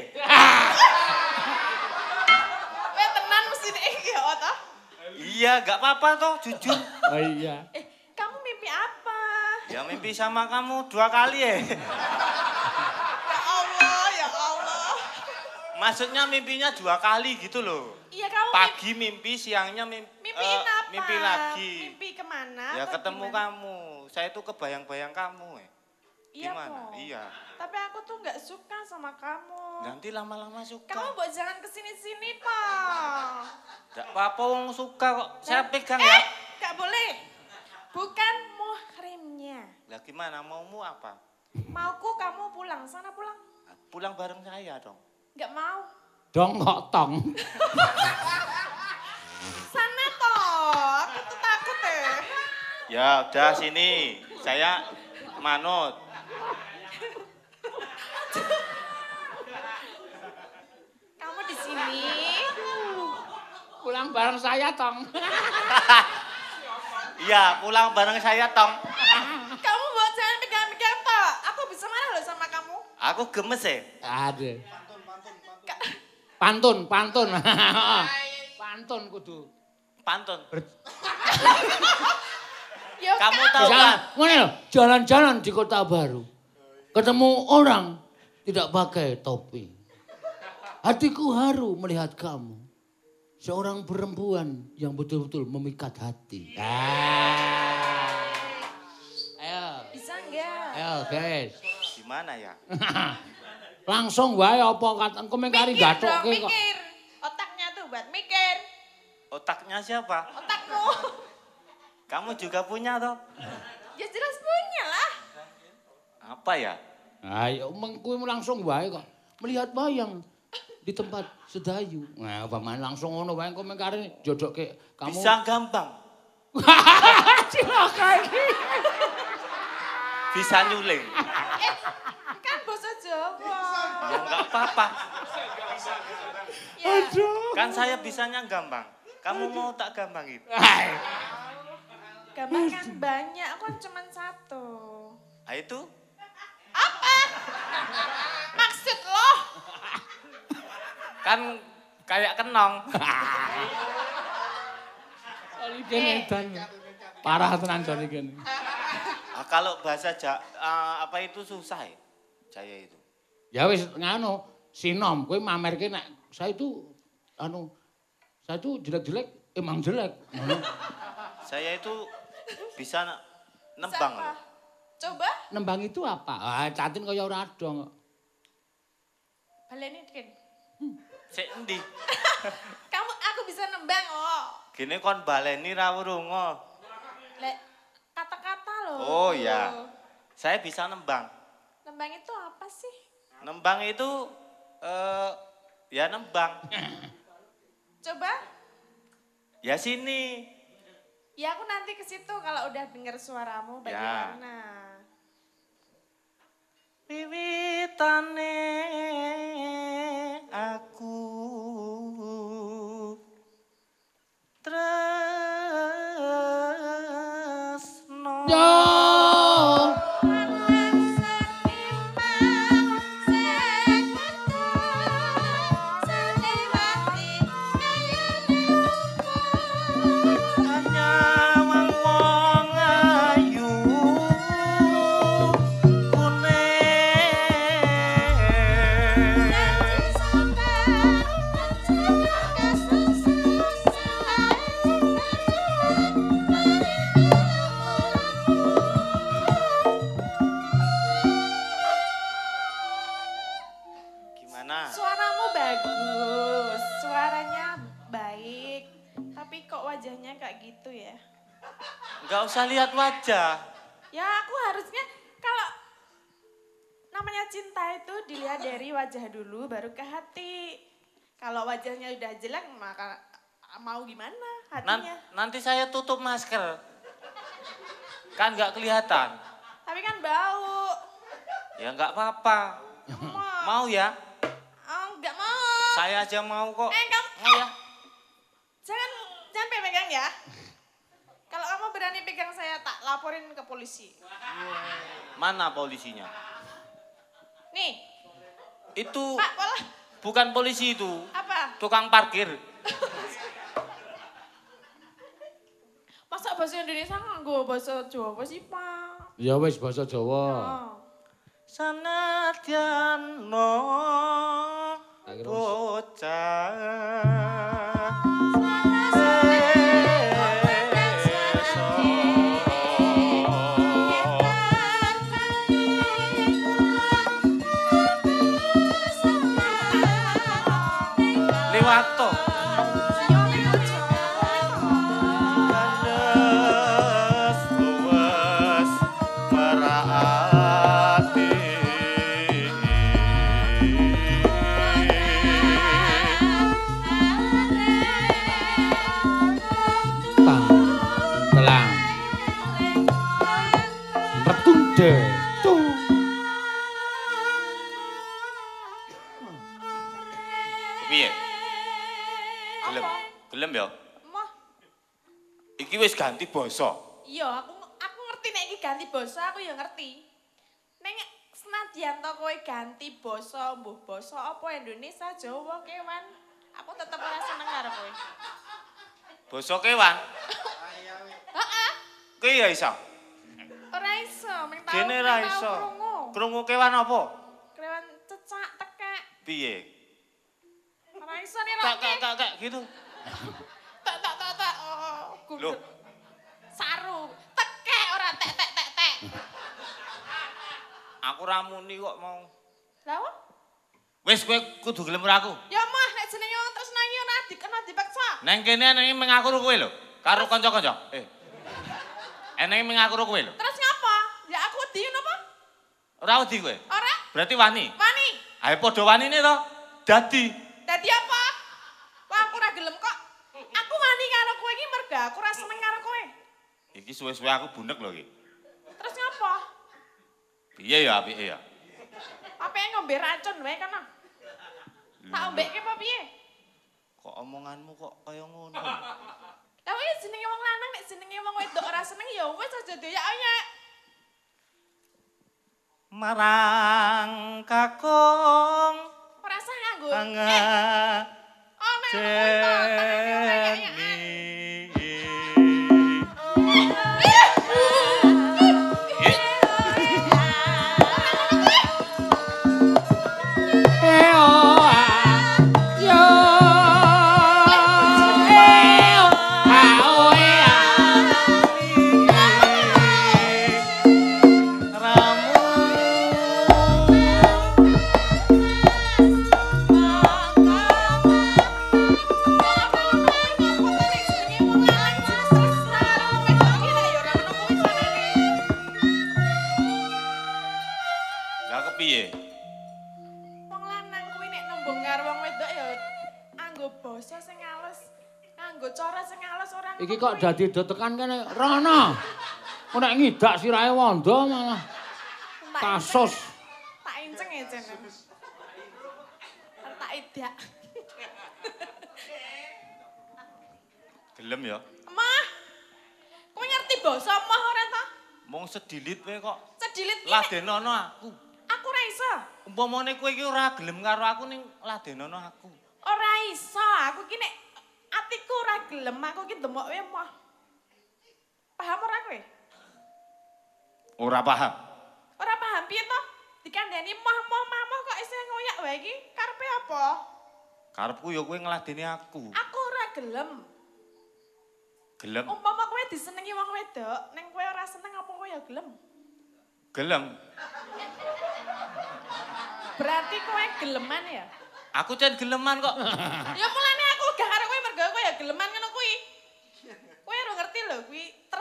Weh tenan mesti iki ya toh? Iya, gak apa-apa toh, jujur. Oh iya. Eh, kamu mimpi apa? Ya mimpi sama kamu dua kali ya. Ya Allah, ya Allah. Maksudnya mimpinya dua kali gitu loh. Iya kamu Pagi mimpi, siangnya mimpi, mimpiin apa? mimpi lagi. Mimpi kemana? Ya atau ketemu gimana? kamu. Saya tuh kebayang-bayang kamu ya. Iya, Gimana? Po. Iya. Tapi aku tuh nggak suka sama kamu. Nanti lama-lama suka. Kamu buat jangan kesini-sini, Pak. Gak apa-apa wong suka kok. Saya Dan- pegang eh, ya. Gak boleh. Bukan muhrimnya. Lah gimana? Maumu apa? Mauku kamu pulang. Sana pulang. Pulang bareng saya dong. Gak mau. Dong kok tong. Sana toh. Aku tuh takut deh. Ya udah sini. Saya manut. Kamu di sini. Pulang bareng saya tong. Iya, pulang bareng saya tong. Kamu buat jangan pegang-pegang toh. Aku bisa marah loh sama kamu. Aku gemes ya. Ada. Ka- Pantun, pantun. Pantun kudu. Pantun. Ya Kamu kan? tahu kan? Misalnya, ngene lho, jalan-jalan di Kota Baru. Ketemu orang tidak pakai topi. Hatiku haru melihat kamu. Seorang perempuan yang betul-betul memikat hati. Ah. Ayo, Bisa enggak? ayo guys. Gimana ya? Langsung wae apa kata komentari Mikir dong, gatoke kok. mikir. Otaknya tuh buat mikir. Otaknya siapa? Otakmu. Kamu juga punya toh? Ya jelas punya lah. Apa ya? Ayo mengkuwi langsung wae kok. Melihat bayang di tempat sedayu. Nah, paman langsung ngono wae komentari jodoke kamu. Bisa gampang. Cilaka iki. Bisa nyuling. Eh, kan bahasa Jawa. Ya enggak apa-apa. Ya. Kan saya bisanya gampang. Kamu mau tak gampangin? Gambar kan banyak, aku kan cuma satu. Ah itu? Apa? Maksud lo? Kan kayak kenong. Oli kene edan. Parah tenan jane kene. Ah, kalau bahasa ja, ah, apa itu susah ya? Saya itu. Ya wis nganu, sinom kowe mamerke nek saya itu anu saya itu jelek-jelek emang jelek. Ngono. Saya itu bisa nembang Siapa? loh. Coba Nembang itu apa? Ah, catin kaya ora ada. baleni Ken. Sik endi? Kamu aku bisa nembang oh. Gini kon baleni ra wurungo. Lek kata-kata loh. Oh ya. Saya bisa nembang. Nembang itu apa sih? Nembang itu eh ya nembang. Coba. Ya sini. Ya aku nanti ke situ kalau udah dengar suaramu bagaimana. Wiwitane aku tresno. Yo. Enggak usah lihat wajah. Ya aku harusnya kalau namanya cinta itu dilihat dari wajah dulu baru ke hati. Kalau wajahnya udah jelek maka mau gimana hatinya. Nan, nanti saya tutup masker. Kan nggak kelihatan. Tapi kan bau. Ya nggak apa-apa. Mau. Mau ya? Oh, nggak mau. Saya aja mau kok. Eh, kamu. Mau ya? Jangan, jangan pegang ya. Kalau kamu berani pegang saya tak laporin ke polisi. Mana polisinya? Nih. Itu Pak, pola. bukan polisi itu. Apa? Tukang parkir. Masa bahasa Indonesia nganggo bahasa Jawa sih, Pak? Ya wis bahasa Jawa. Oh. Sanadyan no bocah. Liwato. Kandes luwes meraati. Tang, telang. Retunde. Tung. Piye? Gelem. Apa? Gelem ya? Mah, Iki wis ganti basa. iya aku aku ngerti nek iki ganti basa aku ya ngerti. Nek senadyan to kowe ganti basa, mbuh basa apa Indonesia, Jawa, kewan, aku tetep ora seneng karo kowe. Basa kewan. Heeh, Ki ya iso. ora iso, mung tau. Dene mung ra tau iso. krungu. Krungu kewan apa? Kewan cecak tekek. Piye? Ora iso nih Kak lho. kak kak kak gitu. Tak tak tak tak. Oh, Loh. gundul. Saru, tekek ora tek tek tek tek. Aku ra muni kok mau. Lah apa? Wis kowe kudu gelem karo aku. Ya mah nek jenenge wong terus nangi ora dikena dipaksa. Neng kene neng mengaku karo kowe lho. Karo kanca-kanca. Eh. Eneng mengaku karo kowe lho. Terus ngapa? Ya aku wedi napa? Ora wedi kowe. Ora? Berarti wani. Wani. Ayo padha wanine to. Dadi. Dadi apa? Wah aku ora gelem kok. Aku wani karo kowe iki mergo aku ora seneng karo kowe. Iki suwe-suwe aku bunek lho iki. Terus ngapa? Piye ya apike ya? Apa ngombe racun wae kana? Tak ombeke apa piye? Kok omonganmu kok kaya ngono? Lah iki jenenge wong lanang nek jenenge wong wedok ora seneng ya wis aja doyak-oyak. Marang kakung Ora usah nganggo. anga Eh, oh nek kowe to tangane oyak-oyak. Lah kepiye? Wong lanang kuwi nek nembung karo wong wedok ya anggo basa sing alus, nganggo cara sing alus ora. Iki kok dadi do tekan kene rono. Kok nek ngidak sirahe wanda malah kasus. Tak inceng ya jen. Tak idak. Gelem ya? Emah. Kowe ngerti basa emah ora ta? Mung sedilit kowe kok Sedilit iki. nek- ladenono aku. Aku ora iso. Umpamane kowe iki ora gelem karo aku ning ladenono aku. Ora iso. Aku iki nek atiku ora gelem, aku iki demok wae emah. Paham ora kowe? Ora paham. Ora paham piye to? Dikandani mah-mah mah kok isih ngoyak wae iki karepe apa? Karepku ya kowe ngladeni aku. Aku ora gelem. Gelem. Umpama kowe disenengi wong wedok, ning kowe ora seneng apa kowe ya gelem? Gelem. Berarti kowe geleman ya? Aku jan geleman kok. Ya mulane aku gak karo kowe mergo kowe ya geleman ngono kuwi. Kowe ora ngerti lho kuwi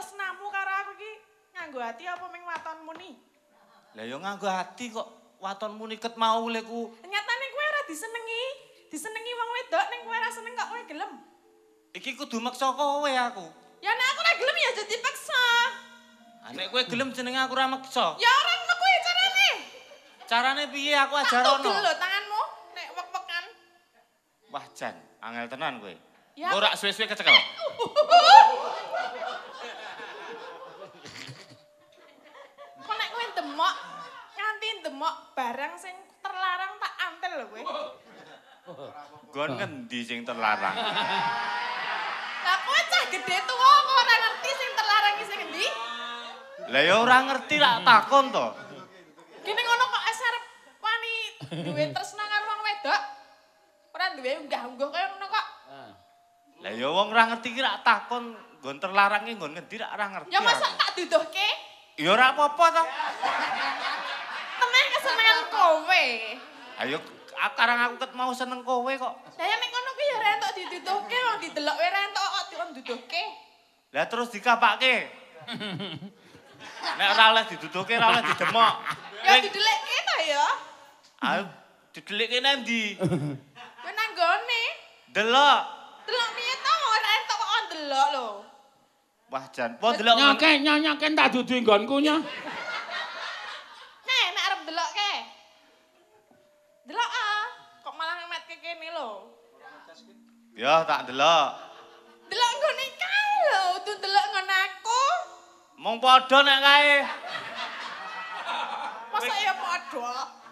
nganggo ati apa ming watonmu ni? Lah ya nganggo ati kok watonmu niket mau leku. Nyatane kowe ora disenengi. Disenengi wong wedok ning kowe ora seneng kok kowe gelem. Iki kudu maksa kowe aku. Ya nek aku ora gelem ya aja dipaksa. Ah nek kowe gelem jenenge aku ora maksa. Ya ora ngono kuwi carane. Carane piye aku Tak ajarono? tugel lho tanganmu nek wek-wekan. Wah Jan, angel tenan kowe. Ya. Ora suwe-suwe kecekel. Kok nek kowe demok nganti demok barang sing terlarang tak antel lho kowe. Gon ngendi sing terlarang? Lah kowe cah gedhe tuwa kok ora ngerti sing terlarang iki sing endi? Lah ya ora ngerti lak takon to. Gini ngono kok arep wani duwe tresna karo wong wedok. Ora duwe unggah-ungguh kaya ngono kok. Lah ya wong ora ngerti ki lak takon nggon terlarange nggon ngendi lak ora ngerti. Ya masa aku. tak duduhke? Ya ora apa-apa to. Temen kesenengan kowe. Ayo karang aku ket mau seneng kowe kok. Lah ya nek ngono kuwi ya ora entuk diduduhke wong didelok wae ora entuk kok dikon duduhke. Lah terus dikapake. Nek ora oleh diduduhke ora oleh didemok. Ya didelikke ta ya. Ayo didelikke nang ndi? Kowe nang gone. Delok. Delok piye to ora entuk kok ndelok lho. Wah Jan, po delok. Nyoke nyoke tak dudu nggonku nya. Nek nek arep delokke. Delok ah, kok malah ngemetke kene lho. Ya tak delok. Delok nggone kae lho, kudu delok ngono aku. Mong padha nek kae. Masa ya padha?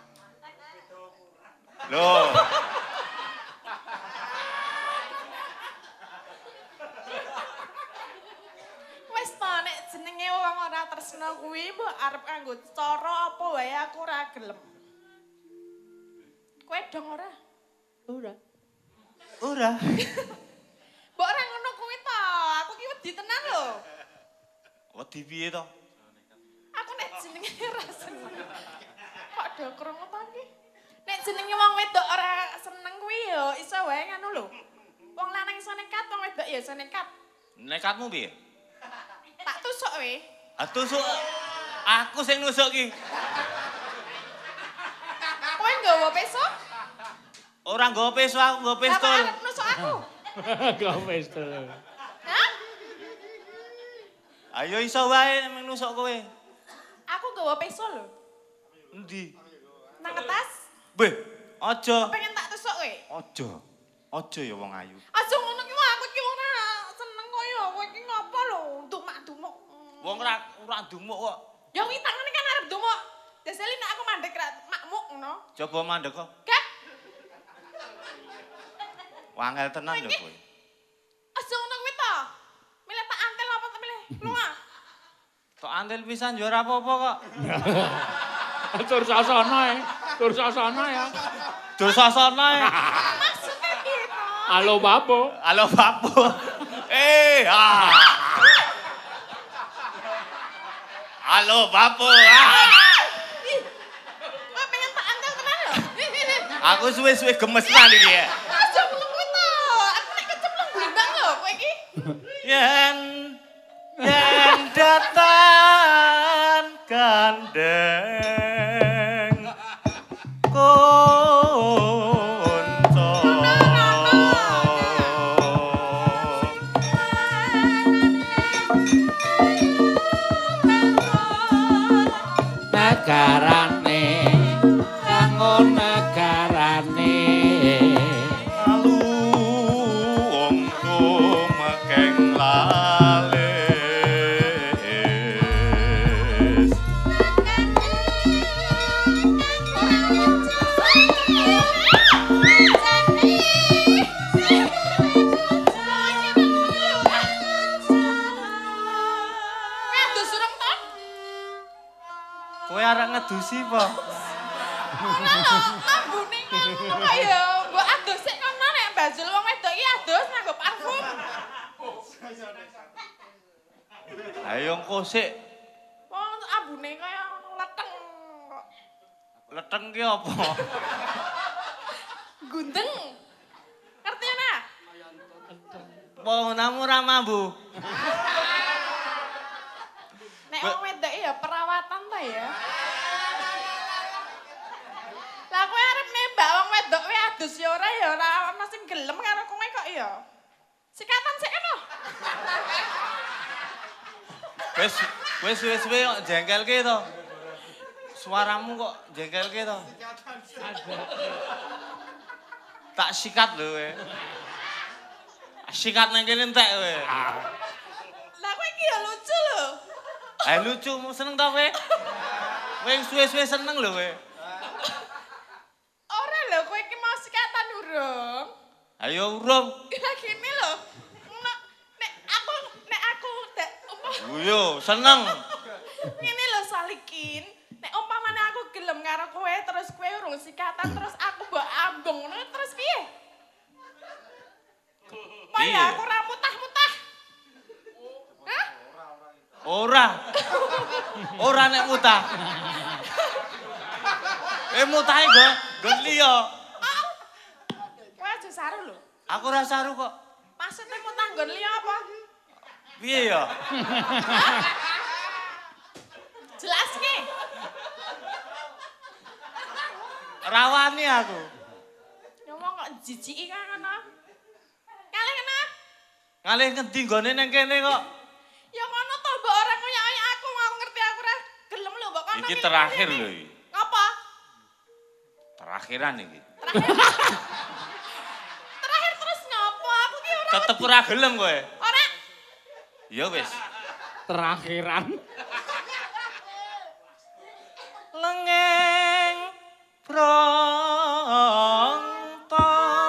Loh. Wis to nek jenenge wong ora tresna kuwi mbok arep kanggo cara apa wae aku ora gelem. Kowe dong ora? Ora. Ora. Mbok ora ngono kuwi to, aku ki wedi tenan lho. Wedi piye to? Aku nek jenenge ora seneng. Kok do krungu to iki? Nek jenenge wong wedok ora seneng kuwi ya iso wae ngono lho. Wong lanang iso nekat, wong wedok ya iso nekat. Nekatmu piye? Tak tusuk we. Ah tusuk. Aku sing nusuk ki. Kowe nggawa peso? Ora nggawa peso, aku nggawa pistol. Lah kok arep nusuk aku? Kau pistol. Hah? Ayo iso wae nek nusuk kowe. Aku nggawa peso lho. Endi? Nang kertas. Beh, aja. Pengen tak tusuk kowe. Aja. Aja ya wong ayu. Aja ngono ki wah, aku ki ora seneng kaya kowe iki ngopo lho, dumak-dumuk. Wong ora ora dumuk kok. Ya kuwi tangane kan arep dumuk. Deseli nek aku mandek ra makmuk ngono. Coba mandek kok. Gak. Wangel tenan lho kowe. Aja ngono kuwi to. Milih tak antel apa tak milih lunga? Tok antel pisan ya ora apa-apa kok. Tur sasana e. Tur sasana ya. Dur sasana e. Maksudnya piye to? Halo Bapo. Halo Bapu. Eh, ah. Halo Bapu. Ah. Ih, kowe pengen tak antel tenan lho. Aku suwe-suwe gemes nang iki ya. Aja ngono kuwi to. Aku nek kecemplung blimbang lho kowe iki. Yen yen datan gandeng konco Negarane kanggo negarane. alu ongko makeng lales Ngadus urung to? kowe arek ngedusi po Ora lho, lambune ngono kok ya. Mbok adus sik kono nek bajul wong wedok iki adus nganggo parfum. ayo engko sik Wong ambune kaya leteng kok. leteng ki apa Gundeng. Ngerti ora? po namu ra mambu Nek wong wedok iki wedhus ya ora ya ora ana sing gelem karo kowe kok ya. Sikatan sik kena. Wis wis wis wis kok jengkelke to. Suaramu kok jengkelke to. Tak sikat lho kowe. Sikat nang kene entek kowe. Lah kowe iki ya lucu lho. Eh lucu seneng to kowe? Kowe suwe-suwe seneng lho kowe. Ora lho kowe iki mau sikatan urung. Ayo urung. Ya gini lho. Nek aku nek aku nek Yo seneng. Ngene lho Salikin. Nek umpamane aku gelem karo kowe terus kowe urung sikatan terus aku mbok ambung ngono terus piye? Piye? Aku ora mutah-mutah. Hah? Ora. Ora nek mutah. Eh mutahe go, go liya. Kowe aja saru lho. Aku ora saru kok. Maksudnya mutah nggon liya apa? Piye ya? Jelaske. Rawani aku. Ngomong kok jijiki kan ngono. Kalih kena. Ngalih ngendi nggone nang kene kok. Ya ngono to mbok ora ngoyak aku aku ngerti aku ora gelem lho mbok kono. Iki terakhir lho iki. Apa? Terakhiran iki. Terakhir. Terakhir terus ngopo? Aku ki ora Tetep ora gelem kowe. ora. Ya wis. Terakhiran. Lengeng pronto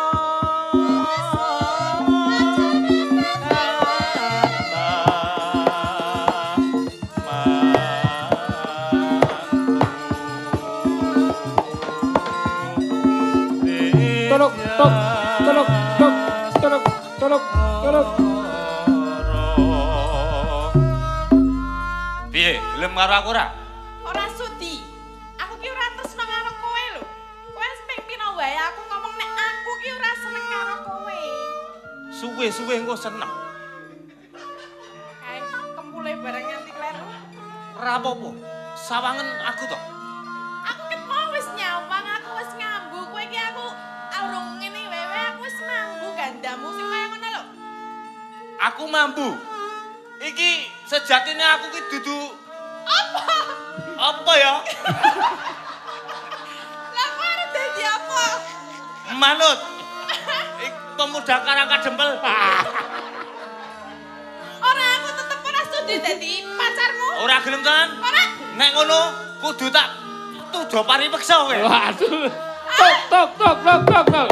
Tolok, tok, tolok, tok, tolok, tolok, tolok. Piye, gelem karo aku ora? Ora sudi. Aku ki ora tresno karo kowe lho. Kowe wis ping pira wae aku ngomong nek aku ki ora seneng karo kowe. Suwe-suwe engko seneng. Kae kempule bareng nganti kleru. Ora apa-apa. Sawangen aku to. Aku ket mau wis nyawang, aku wis ngambu. Kowe ki aku urung ngene wewe aku wis mambu gandamu sing kaya ngono lho. Aku mambu. Iki sejatine aku ki dudu Apa? apa ya? Lah kowe arep dadi apa? Manut. Ik pemuda karang kadempel. Ora aku tetep ora sudi dadi pacarmu. Ora gelem tenan. Ora. Nek ngono kudu tak tujo paripeksa kowe. Waduh. Tok, tok, tok, tok, tok, tok.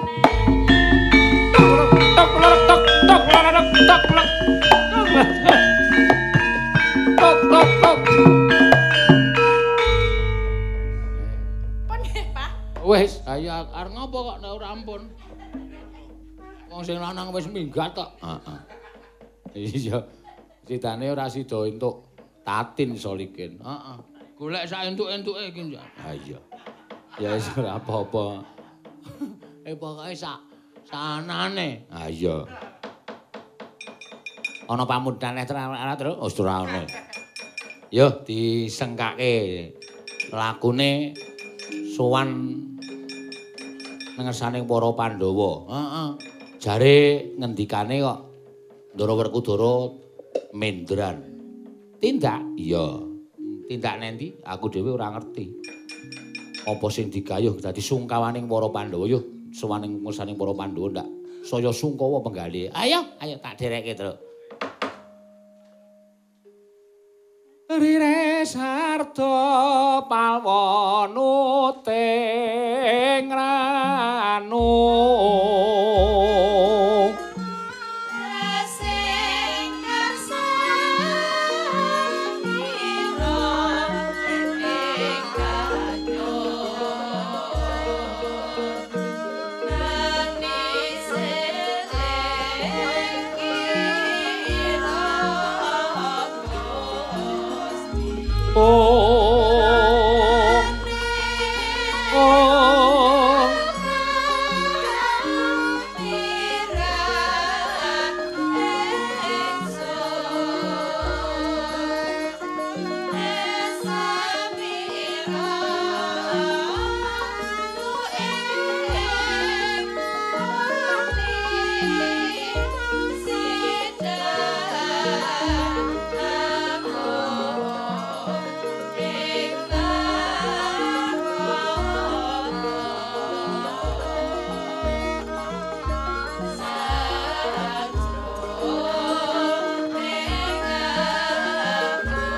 Tok, tok, tok, tok, tok, tok, tok, tok. Tok, tok, tok. Pon nggih, Pak. Wis, ayo arep ngopo kok nek ora ampun. Wong sing lanang wis minggat kok. Heeh. Iya. Citane ora sida entuk tatin Solikin. Heeh. Golek sak entuk-entuke iki. Ha iya. Ya wis ora apa-apa. Eh pokoke sak sanane. Ha iya. Ana pamudane terus wis ora ono. Yo disengkake lakune sowan nengersaning para Pandhawa. Heeh. Jare ngendikane kok Ndara Werkudara mendran. Tindak? Iya. Tindak nendi? Aku dhewe ora ngerti. Apa sing digayuh dadi sungkawaning para Pandhawa yo sowaning ngersaning para Pandhawa ndak saya sungkawa penggalih. Ayo, ayo tak dereke terus. Rire sarta palwanuting ranu Sing kersanira ing kadyon nani seleng kira oh oh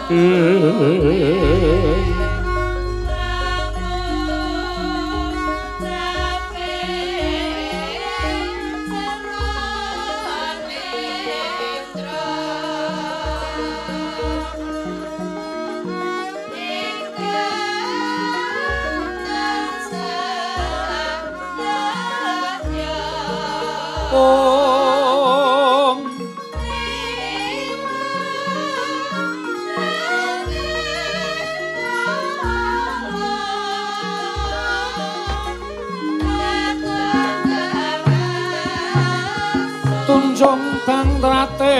Tunjung Bangtrate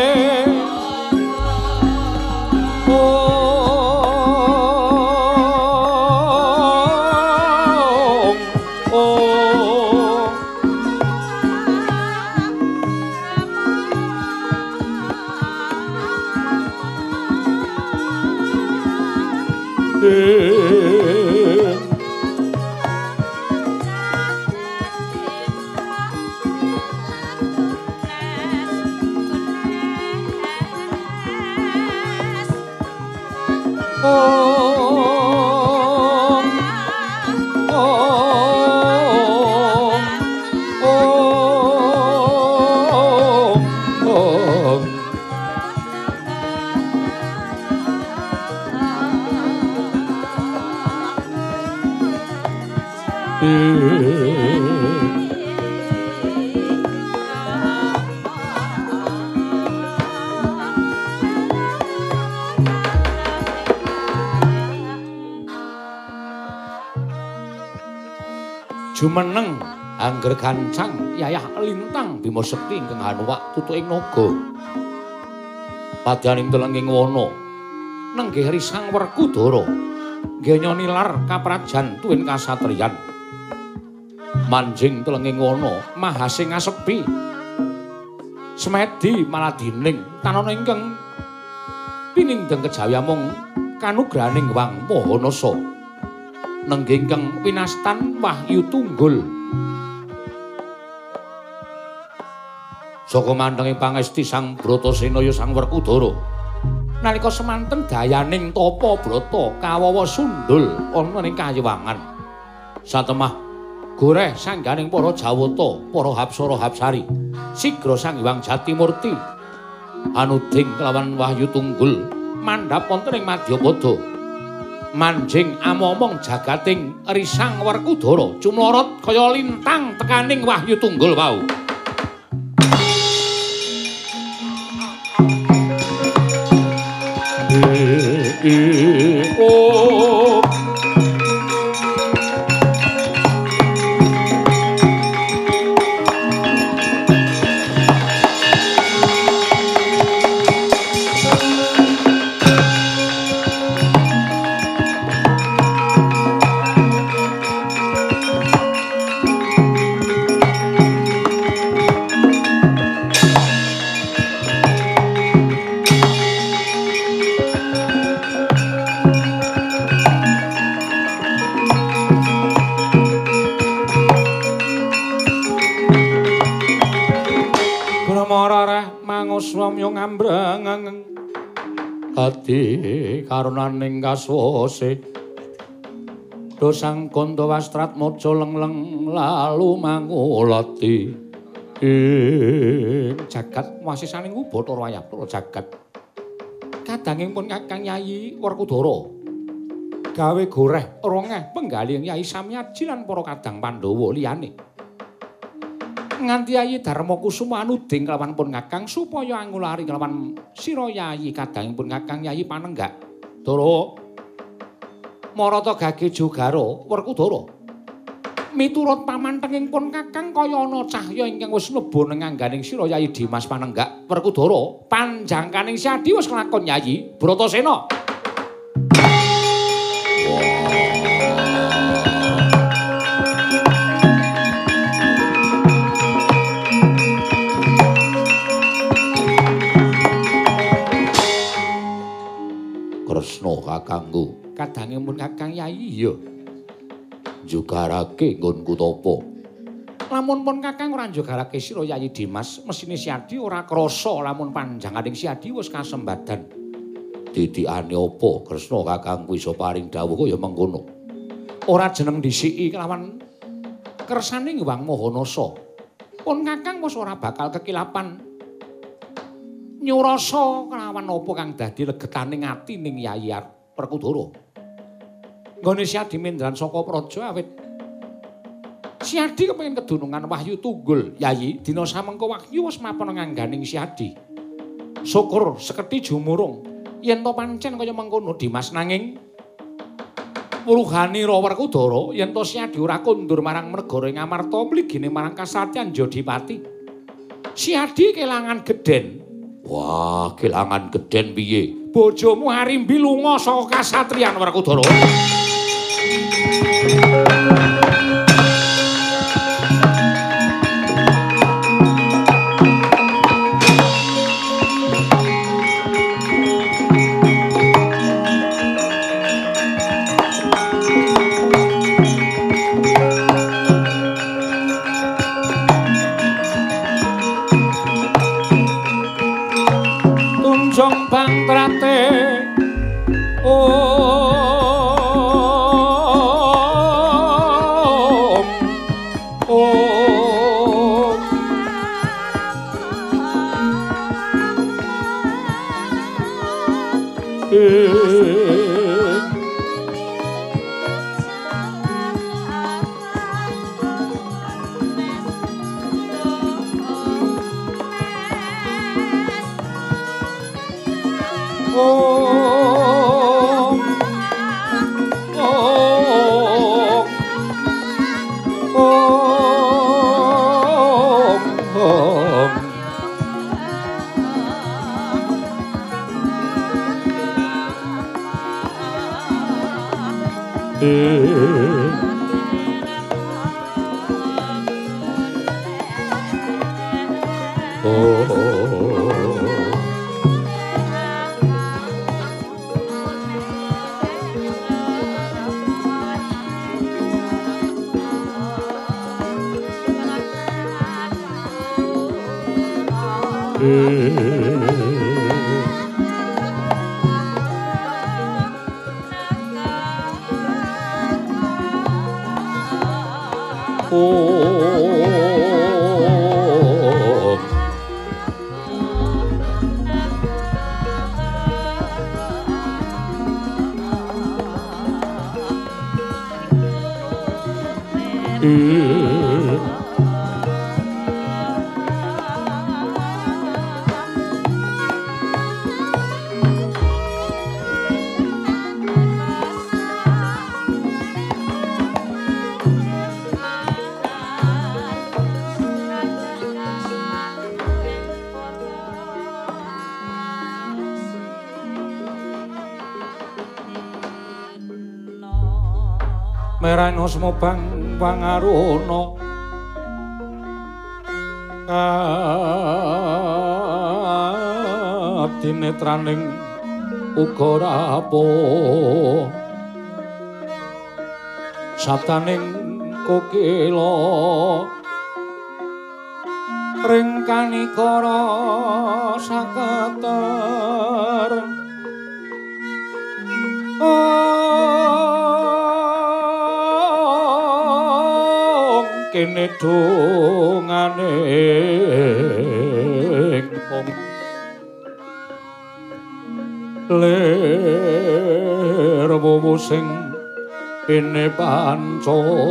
jumeneng angger gancang yayah lintang Bima Sekti ingkang hanuwak tutuking naga padyaning telenging wana nenggih risang Werkudara nggenya nilar kaprajan tuwin kasatriyan manjing telenging wana mahasing ngasepi semedi maladining tanana ingkang pinindeng kejawi amung kanugrahaning Wang Mahanasa nenggih ingkang winastan Wahyu Tunggul saka mantenging pangesti Sang Bratasena ya Sang Werkudara nalika semanten dayaning tapa brata kawawa sundul ana ning kayewangan satemah goreh sangganing para Jawata para Hapsara Hapsari sigra Sang Hyang Jatimurti anuding kelawan Wahyu Tunggul mandhap wonten ing Madyapada manjing amomong jagating risang Werkudara cumlorot kaya lintang tekaning Wahyu Tunggul wau. Oh swamya ngambrang ati karunaning kaswase dosang kanda wastrat maja lengleng lalu mangulati ing jagat wasisaning Bathara Wayapura jagat kadanging pun Kakang Yayi Werkudara gawe goreh rongeh penggalih Yayi Samyaji lan para kadang Pandhawa liyane nganti Yayi Darmakusuma anuding kelawan pun Kakang supaya angulari kelawan sira Yayi kadangipun Kakang Yayi Panenggak Dara Marata Gage Jogara Werkudara miturut pamantenging pun Kakang kaya ana cahya ingkang wis mlebu ning angganing sira Yayi Dimas Panenggak Werkudara panjangkaning Siadi wis kelakon Yayi Bratasena. Kresna kakangku kadangipun Kakang Yayi ya njugarake nggonku tapa lamun pun Kakang ora njugarake sira Yayi Dimas mesine Siadi ora krasa lamun panjanganing Siadi wis kasembadan didikane apa Kresna kakangku iso paring dawuh kaya mengkono. Ora jeneng disiki kelawan kersane Hyang Mahanasa. Pun kakang mos ora bakal kekilapan nyurasa kelawan apa kang dadi legetaning ati ning Yayi Werkudara. Nggone Siadi Mendran saka praja awit Siadi kepengin kedunungan wahyu tunggul. Yayi, dina samengko wahyu wis mapan ngangganing Siadi. Syukur seketi jumurung yen to pancen kaya mengkono Dimas nanging Wuruhanira Werkudara yen to Siadi ora kondur marang negara ing Amarta mligine marang kasatyan Jodipati. Siadi kelangan gedhen. Wah, kelangan gedhen piye? Bojomu Harimbi lunga saka kasatriyan Werkudara. Tunjung Bangtrate Om Om Om Merana semobang pangaruna abdinetraning uga rapuh sabdaning kokila ring kanikara sakater kene dongane pong ler wowo sing pene panca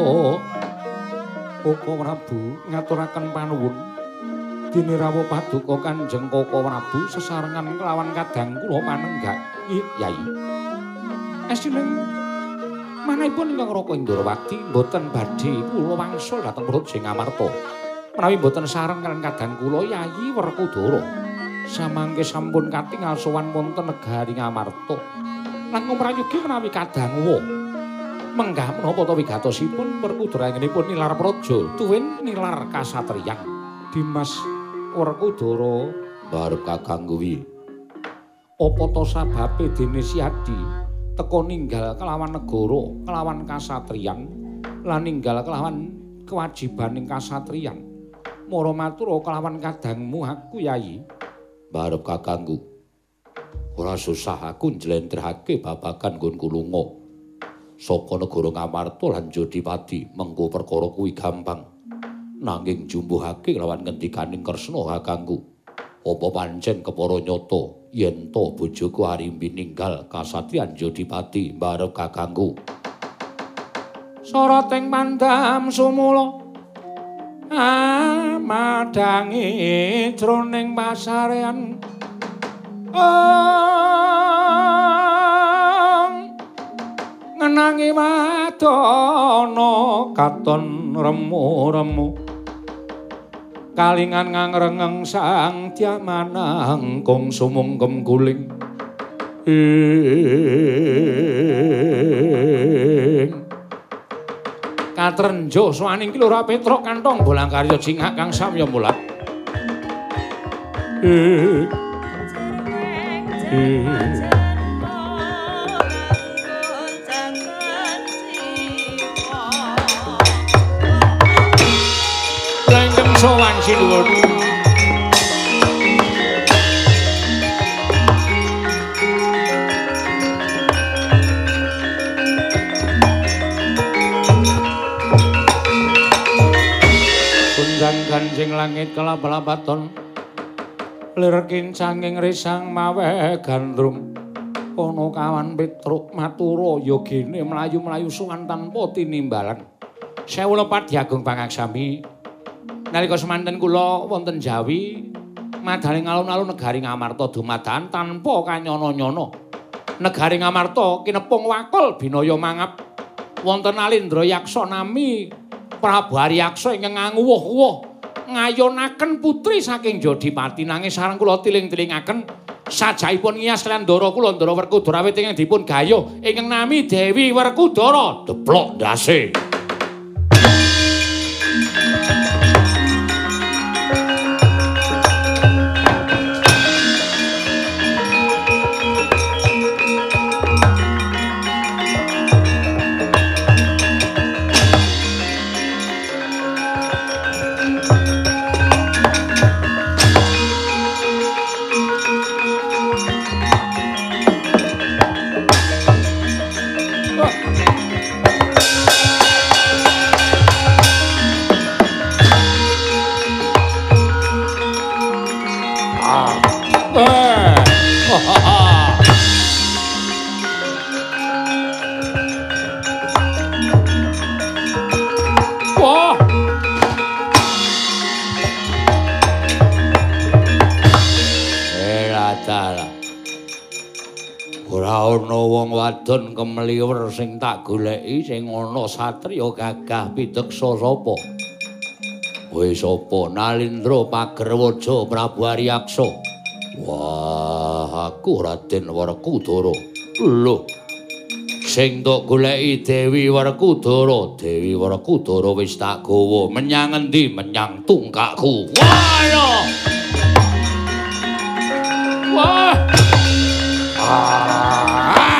Koko Prabu ngaturaken panuwun dene rawuh paduka Kanjeng Koko Prabu sesarengan kelawan kadang kula panenggak Yai asiling manahipun ingkang Raka Indrawati mboten badhe kula wangsul dhateng Praja Ngamarta. Menawi mboten sareng kaliyan kadang kula Yayi Werkudara samangke sampun katingal sowan wonten negari Ngamarta. Langkung prayogi menawi kadang wa menggah menapa ta wigatosipun Werkudara ingenipun nilar praja tuwin nilar kasatriyan. Dimas Werkudara barep kakang kuwi. Apa ta sababe dene Siadi teka ninggal kelawan negara, kelawan kasatriyan, lan ninggal kelawan kewajibaning kasatriyan. Mara matur kelawan kadangmu aku Yayi. Barep kakangku. Ora susah aku njlentrehake babagan nggonku lunga saka negara Ngamarta lan Jodipati. Mengko perkara kuwi gampang. Nanging jumbuhake lawan ngendikaning Kresna kakangku. Apa pancen kepara nyata yen to bojoku Arimbi ninggal kasatriyan Jodipati mbarep kakangku. Soroting pandam sumula amadangi jroning pasarean ngenangi wadana katon remu-remu kalingan ngangrengeng sang diamanang kong sumungkem guling ing katrenjo swaning Kilura Petruk kantong bolang karya jingak kang samya mulat ing Langgeng sowan sinuwun Kunjang ganjing langit kelap-lapaton lir kincanging risang mawe gandrum ana kawan Petruk matura yogine mlayu-mlayu suwan tanpa tinimbalan. Sewu lepat Diagung Pangaksami. Nalika semanten kula wonten Jawi madaling alun-alun negari Ngamarta dumadakan tanpa kanyana-nyana. Negari Ngamarta kinepung wakul binaya mangap. Wonten Alindra Yaksa nami Prabu Aryaksa ingkang nganguwuh-uwuh ngayonaken putri saking Jodipati nanging sareng kula tiling-tilingaken sajaipun ngiyas lan ndara kula Ndara Werkudara awit ingkang dipun gayuh ingkang nami Dewi Werkudara deplok ndase. Wadon kemliwer sing tak goleki sing ana satriya gagah pideksa sapa? Kowe sapa? Nalindra Pagerwaja Prabu Aryaksa. Wah, aku Raden Werkudara. Lho. Sing tok goleki Dewi Werkudara. Dewi Werkudara wis tak gawa menyang endi? Menyang tungkakku. Wah, ya. Wah. Ah.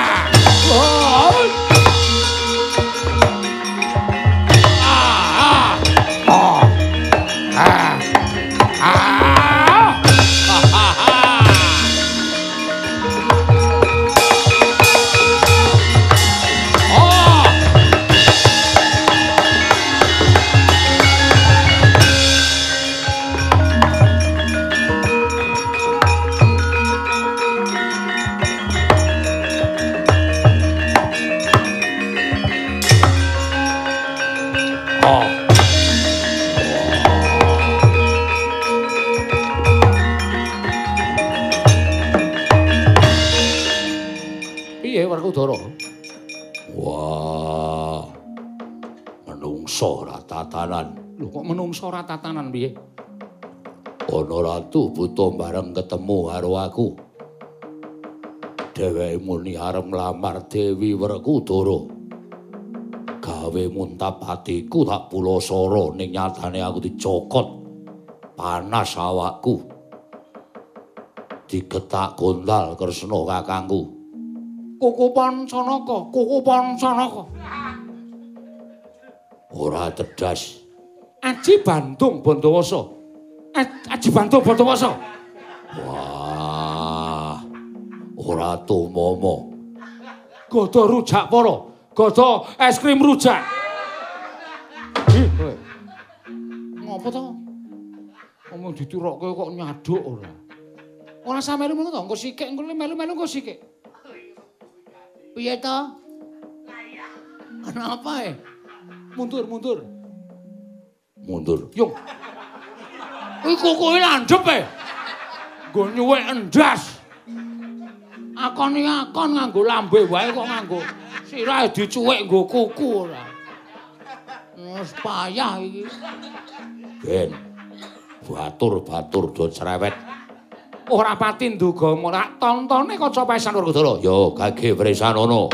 Wah, menungso ora tatanan. Lho kok menungso ora tatanan piye? Ana ratu buta bareng ketemu karo aku. Dheweke muni arep nglamar Dewi Werkudara. Gawe muntap atiku tak pulasara ning nyatane aku dicokot. Panas awakku. Digetak gondal Kresna kakangku. Kuku Pancanaka, Kuku Pancanaka. Ora tedas. Aji Bandung Bandawasa. Aji Bandung Bandawasa. Wah. ora tumomo. Godo rujak poro, godo es krim rujak. Ih, kowe. Ngopo to? Ngomong diturukke kok nyaduk ora. Ora samelu ngono to, engko sikik engko melu-melu engko sikik. Piye to? Kenapa eh? Mundur, mundur. Mundur. Yung. Iku kowe landhep e. Nggo nyuwek endas. Akon iki akon nganggo lambe wae kok nganggo sirahe dicuwek nggo kuku ora. Wis payah iki. Ben. Batur-batur do cerewet. Ora pati nduga ora tontone kaca pesan Werkudara. Yo gage Wresanono.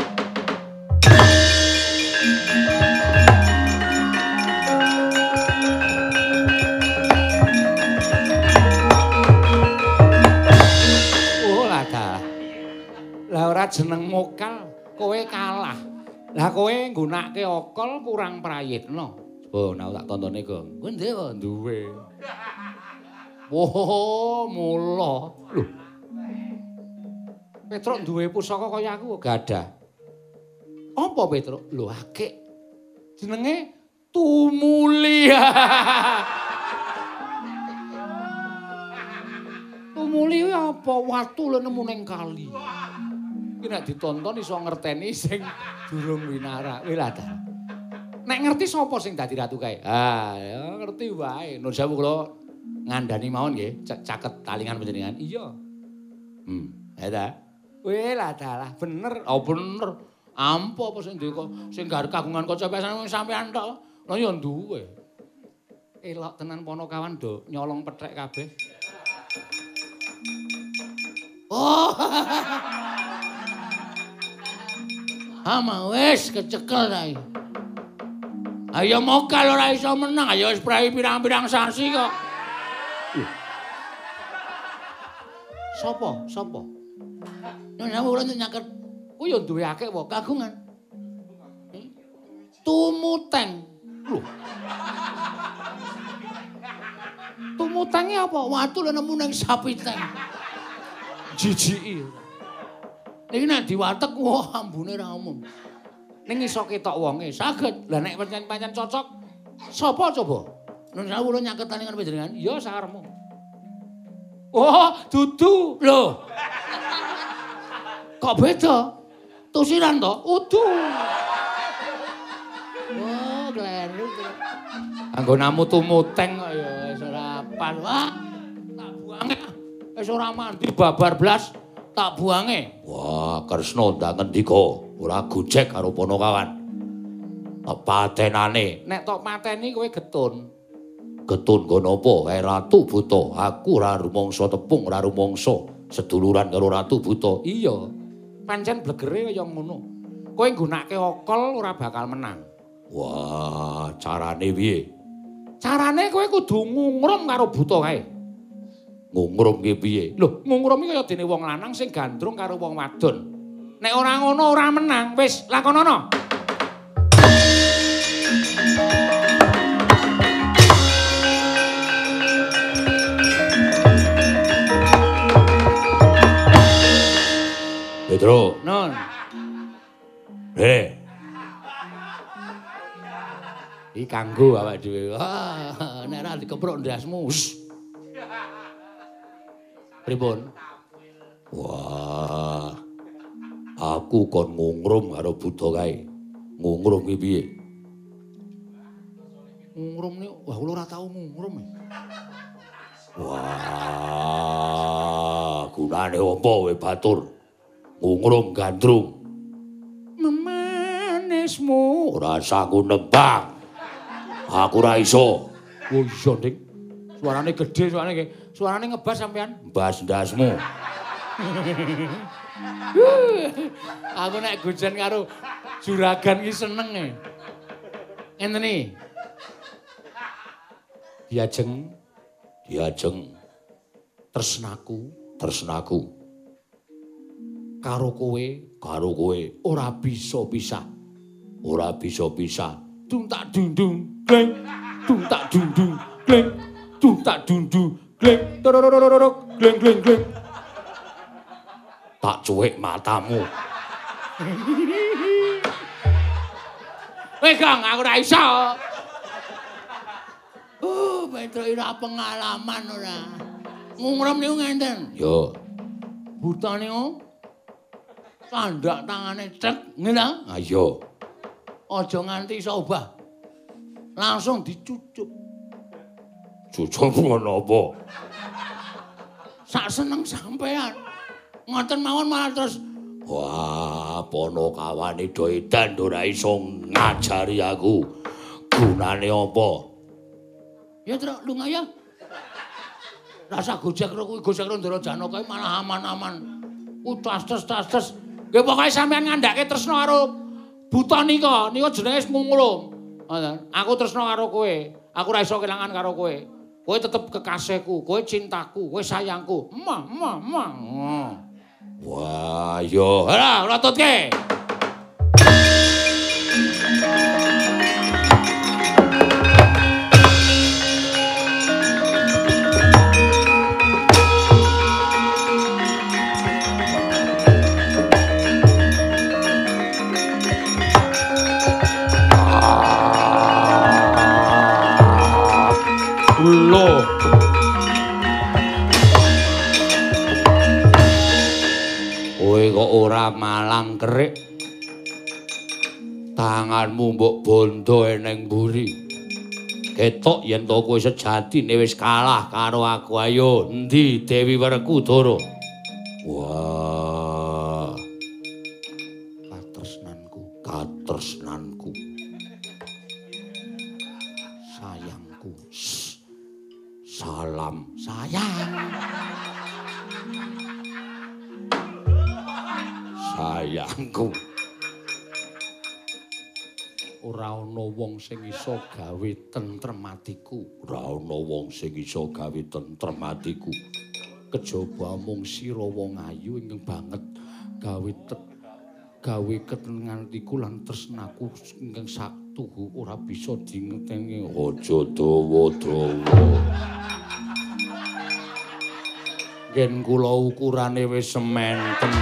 Lah ora jeneng mokal, kowe kalah. Lah kowe nggunakake okol kurang prayitna. Oh, nek tak tontone, Gong. Kowe ndek kok duwe. Woh, mula. Lho. Petruk duwe pusaka kaya aku gadah. Apa Petruk? Lho akeh. Jenenge Tumuli. Tumuli apa? Watu lho nemu ning kali. Iki nek ditonton iso ngerteni sing durung winara. Kowe lah. Nek ngerti sapa sing dadi ratu kae? Ah, ya ngerti wae. Nun sewu kula ngandani mawon nggih, caket talingan panjenengan. Iya. Hmm, ya ta. Kowe lah dalah bener. Oh bener. Ampo apa sing duwe kok sing gar kagungan kaca pesan sampean tok. Lah ya duwe. Elok tenan ponokawan do nyolong pethek kabeh. Oh. Ama wis kecekel ta iki. Ayo mokal ora iso menang, ayo wis prai pirang-pirang sasi kok. Uh. Sopo? Sopo? Nyonya ora nyaket. Ku yo duwe akeh wae kagungan. Hmm? Tumuteng. Lho. Tumutenge apa? Watu lho nemu ning sapiteng. Jijiki. Niki nek diwatek wah ambune ra umum. Ning iso ketok wonge, saged. Lah nek pancen-pancen cocok, sapa coba? Nun sewu nyaketane kan panjenengan. Ya sakarepmu. Oh, dudu. Lho. Kok beda? Tusiran to? Udu. Oh, kleru. Anggonamu tumuteng kok ya wis ora pas. Wah, tak buange. Wis ora mandi babar blas. Tak buange. Wah, Kresna ndak ngendika, ora gojek karo ponokawan. Patenane, nek tok mateni kowe getun. Getun nggo napa? Kae Ratu Buta. Aku ora rumangsa tepung, ora rumangsa seduluran karo Ratu Buta. Iya. Pancen blegere kaya ngono. Kowe nggunakake okol ora bakal menang. Wah, carane piye? Carane kowe kudu ngungrum karo Buta kae. Ngungrum ki piye? Lho, ngungrum iki kaya dene wong lanang sing gandrung karo wong wadon. Nek ora ngono ora menang, wis lakonono. Petro. Non. Eh. Iki kanggo awake dhewe. Ah, nek ora dikepruk ndasmu. Pripun? Wah. Aku kon ngungrum karo Buta kae. Ngungrum ki piye? Ngungrum ni, wah kula ora tau ngungrum. Wah, gunane apa we batur? Ngungrum gandrung. Memanismu. Ora sangku nembang. Aku ora iso. Oh iya, Dik. Suarane gedhe, suarane nggih. Suarane ngebas sampean. Mbas ndasmu. Aku nek gojen karo juragan ki seneng e. Ngenten iki. Diajeng, diajeng tresnaku, tresnaku karo kowe, karo kowe ora bisa pisah. Ora bisa pisah. Dung tak dundung, gleng. Dung tak dundung, gleng. Dung tak dundung, gleng. Torororororok, gleng gleng gleng. Tak cuwek matamu. Weh Kang, aku ora iso. Oh, Petro ora pengalaman ora. Ngungrem niku ngenten. Yo. Butane kok tandak tangane cek ngene. Ah iya. Aja nganti iso obah. Langsung dicucuk. Cucuk ngono apa? Sak seneng sampean. Ngoten mawon malah terus wah, pono kawane do edan ora iso ngajari aku. Gunane apa? Ya Tru, lunga ya. Rasa gojek karo kuwi gojek karo Ndara Janaka malah aman-aman. Ku tas-tas-tas. Nggih pokoke sampean ngandhake tresno karo buta nika, nika jenenge ngungulung. Ngoten. Aku tresno karo kowe. Aku ora iso kelangan karo kowe. Kowe tetep kekasihku, kowe cintaku, kowe sayangku. Emah, emah, emah. Wah, yo. Ora, lototke. Loh. Kowe kok ora malang kerik. Tanganmu mbok bondo eneng mburi. Ketok yen to kowe sejatine wis kalah karo aku. Ayo, endi Dewi Werkudara? Wah. Katresnanku, katresnanku. sayangku. Salam Sayang. sayangku. Ora ana wong sing iso gawe tentrem atiku. Ora ana wong sing iso gawe tentrem atiku. Kejaba mung sira wong ayu ingkang banget gawe tet gawe ketenangan atiku lan tresnaku ingkang saktuhu ora bisa dingeteni. Aja dawa-dawa. Yen kula ukurane wis sementen.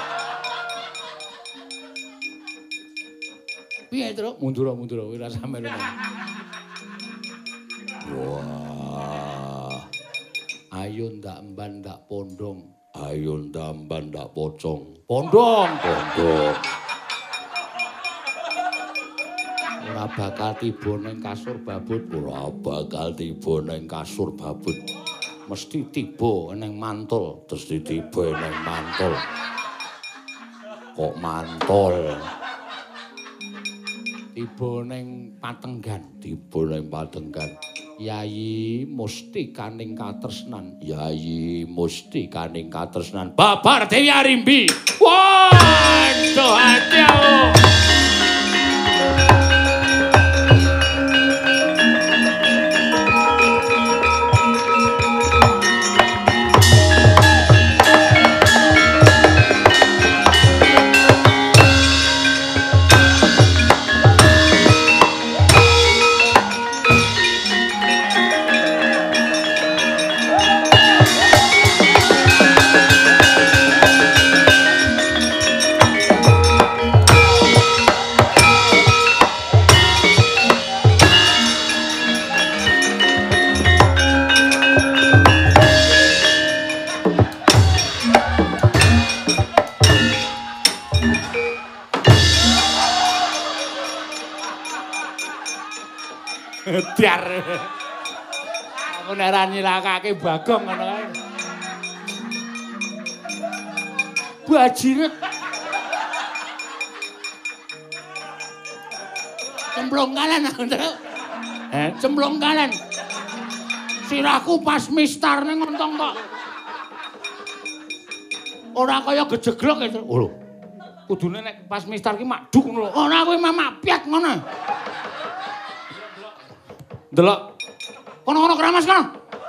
Piye, Tru? Mundur-mundur ora sampe lho. Wah. Ayo ndak emban ndak pondong. Ayo ndamban ndak pocong. Pondong. Pondok. Ora bakal tiba ning kasur babut. Ora bakal tiba ning kasur babut. Mesti tiba ning mantul. Terus tiba ning mantul. Kok mantul? Tiba ning patenggan. Tiba ning patenggan. Yayi mustikaning katresnan. Yayi mustikaning katresnan. Babar Dewi Arimbi. Waduh hati aku. Dar. Aku nek ra nyilakake Bagong ngono kae. Bajiret. Cemplung kalen aku, Tru. Eh, cemplung kalen. Sirahku pas mistar ning ngontong kok. Ora kaya gejeglok itu. Oh lho. Kudune nek pas mistar ki maduk ngono lho. Ora kuwi mamak piat ngono. Delok. Kono-kono keramas kono.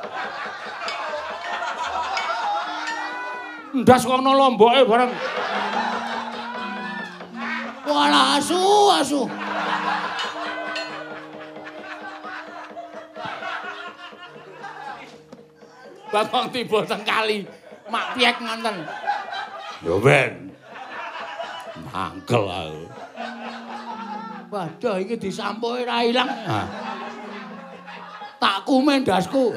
Ndas kono lomboke bareng. Walah asu, asu. Bakong tiba teng kali. Mak piek ngonten. Yo ben. Mangkel aku. Waduh iki disampuke ra ilang. Tak kumen dasku.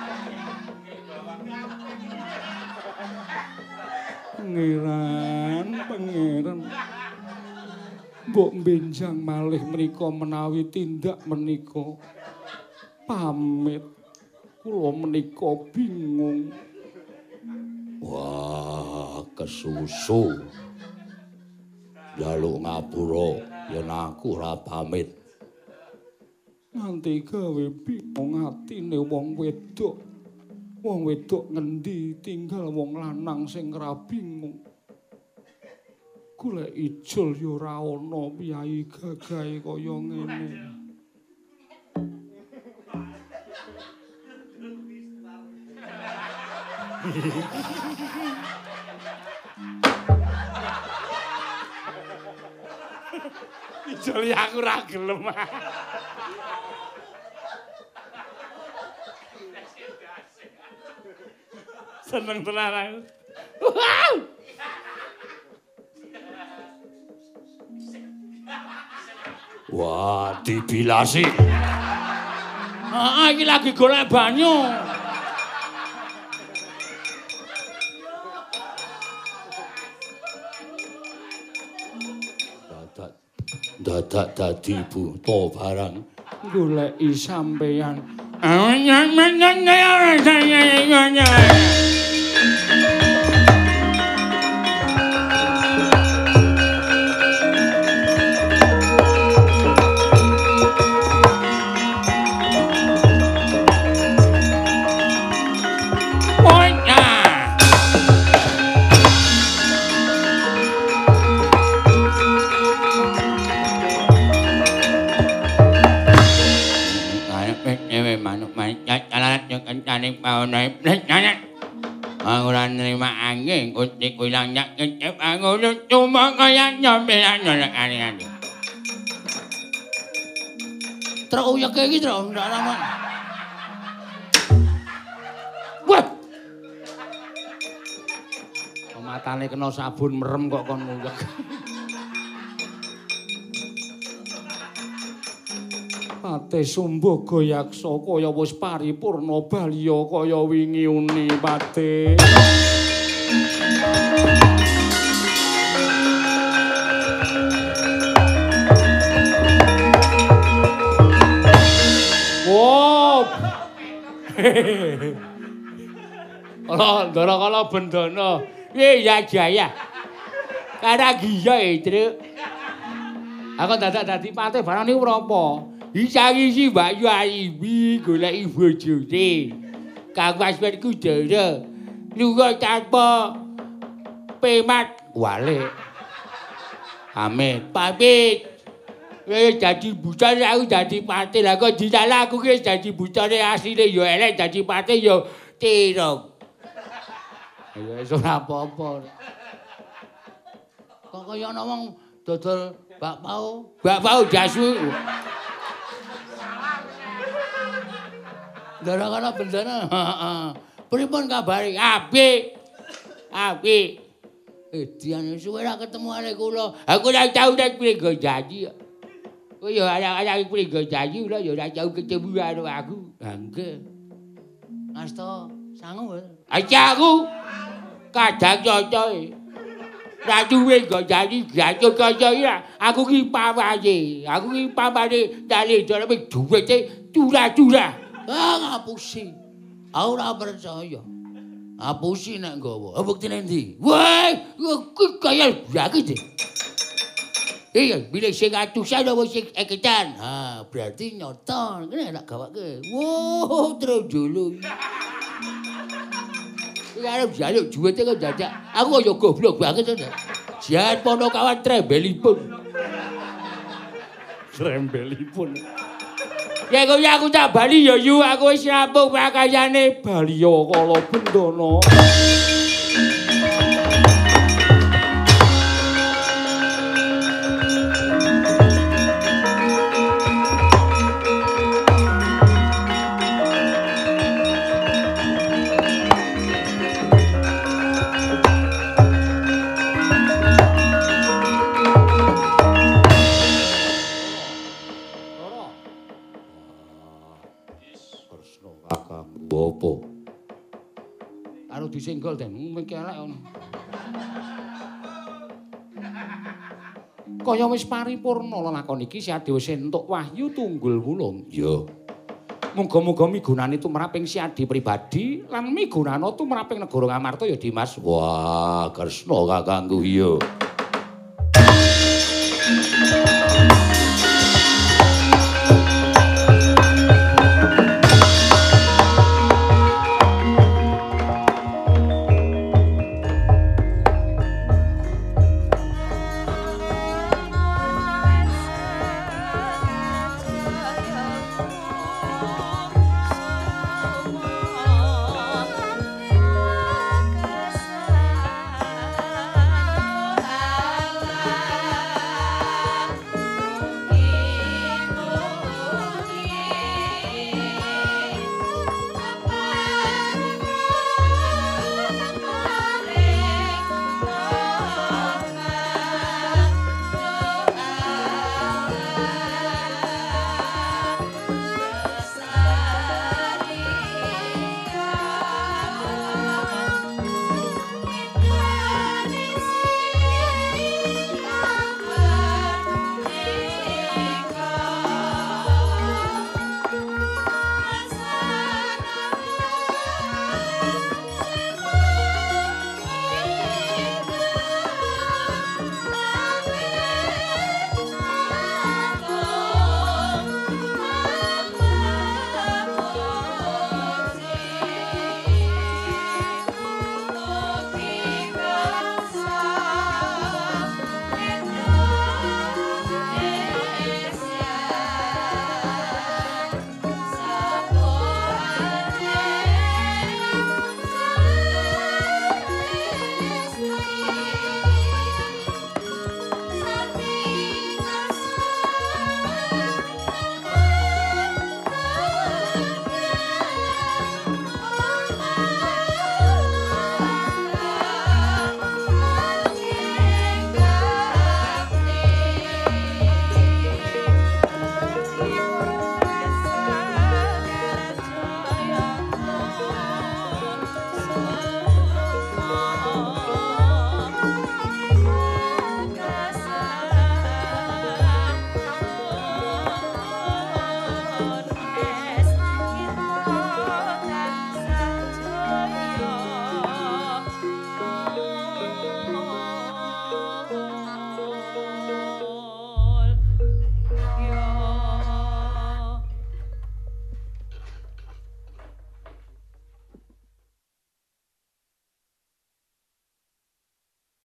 Pangeran, pangeran. Mbok benjang malih menika menawi tindak menika. Pamit. Kula menika bingung. Wah, kesusu. Jaluk ngapura yen aku ora pamit. Nganti gawe bingung atine wong wedok. Wong wedok ngendi tinggal wong lanang sing ora bingung. Golek ijol ya ora ana piyayi gagahe kaya ngene. Ijoli aku ora gelem. Seneng tenan aku. Wah, dibilasi. Ah, iki lagi golek banyu. Dadak dadak dadi buta barang goleki sampeyan. Kencane paune nanya. Aku ora nrima angin kucing ilang nyak kecep aku cuma kaya nyampean nek kane. Truk uyeke iki truk ndak lama. Wah. Matane kena sabun merem kok kon nguyek. Pate Sumbaga Yaksa kaya wis paripurna balya kaya wingi uni pate. Wow. Ora ndara kala bendana. Piye ya Jaya? Kara giya e, Truk. Aku dadak dadi pate barang niku menapa? Isang-isi Mbak Yu Ayimi goleki bojone. Kang Wasmen Kudara lunga tanpa pemat wale. Amin. Pamit. Wis dadi bocone aku dadi pate. Lah kok disalah aku ki dadi bocone asline ya elek dadi pate ya tirong. Ya wis ora apa-apa. Kok kaya ana wong dodol bakpao, bakpao jasu. Gara-gara bendana, heeh. Pripun kabare? Apik. Apik. Eh, diane suwe ra ketemu arek kula. Aku ora tau nek prenggo janji. Kowe ya arek-arek prenggo janji ora ya ora tau ketemu karo aku. Ha nggih. Asta sangu. Aja aku kadang cocoke. Ra duwe nggo janji gaco kaya ora. Aku ki pamane. Aku ki pamane dale dhewe duwite curah-curah. Ah, ngapusi. Aku ora percaya. Ngapusi nek nggawa. Buktine ndi? Wah, kuwi kaya blaki deh. Iya, bilih sing atusan apa sing eketan. Ha, berarti nyata. Kene tak gawake. Wo, terus dulu. Iki arep jaluk duwite kok dadak. Aku kaya goblok banget to. Jan pono kawan trembelipun. Trembelipun. Ya kok aku tak bali ya yu aku wis rampung pakayane Balya Kala Bendana. disenggol den. Mengki elek ngono. Kaya wis paripurna lakon iki si Adi wis entuk wahyu tunggul wulung. Ya. Muga-muga migunani tumraping si Adi pribadi lan migunana tumraping negara Ngamarta ya Dimas. Wah, Kresna kakangku iya.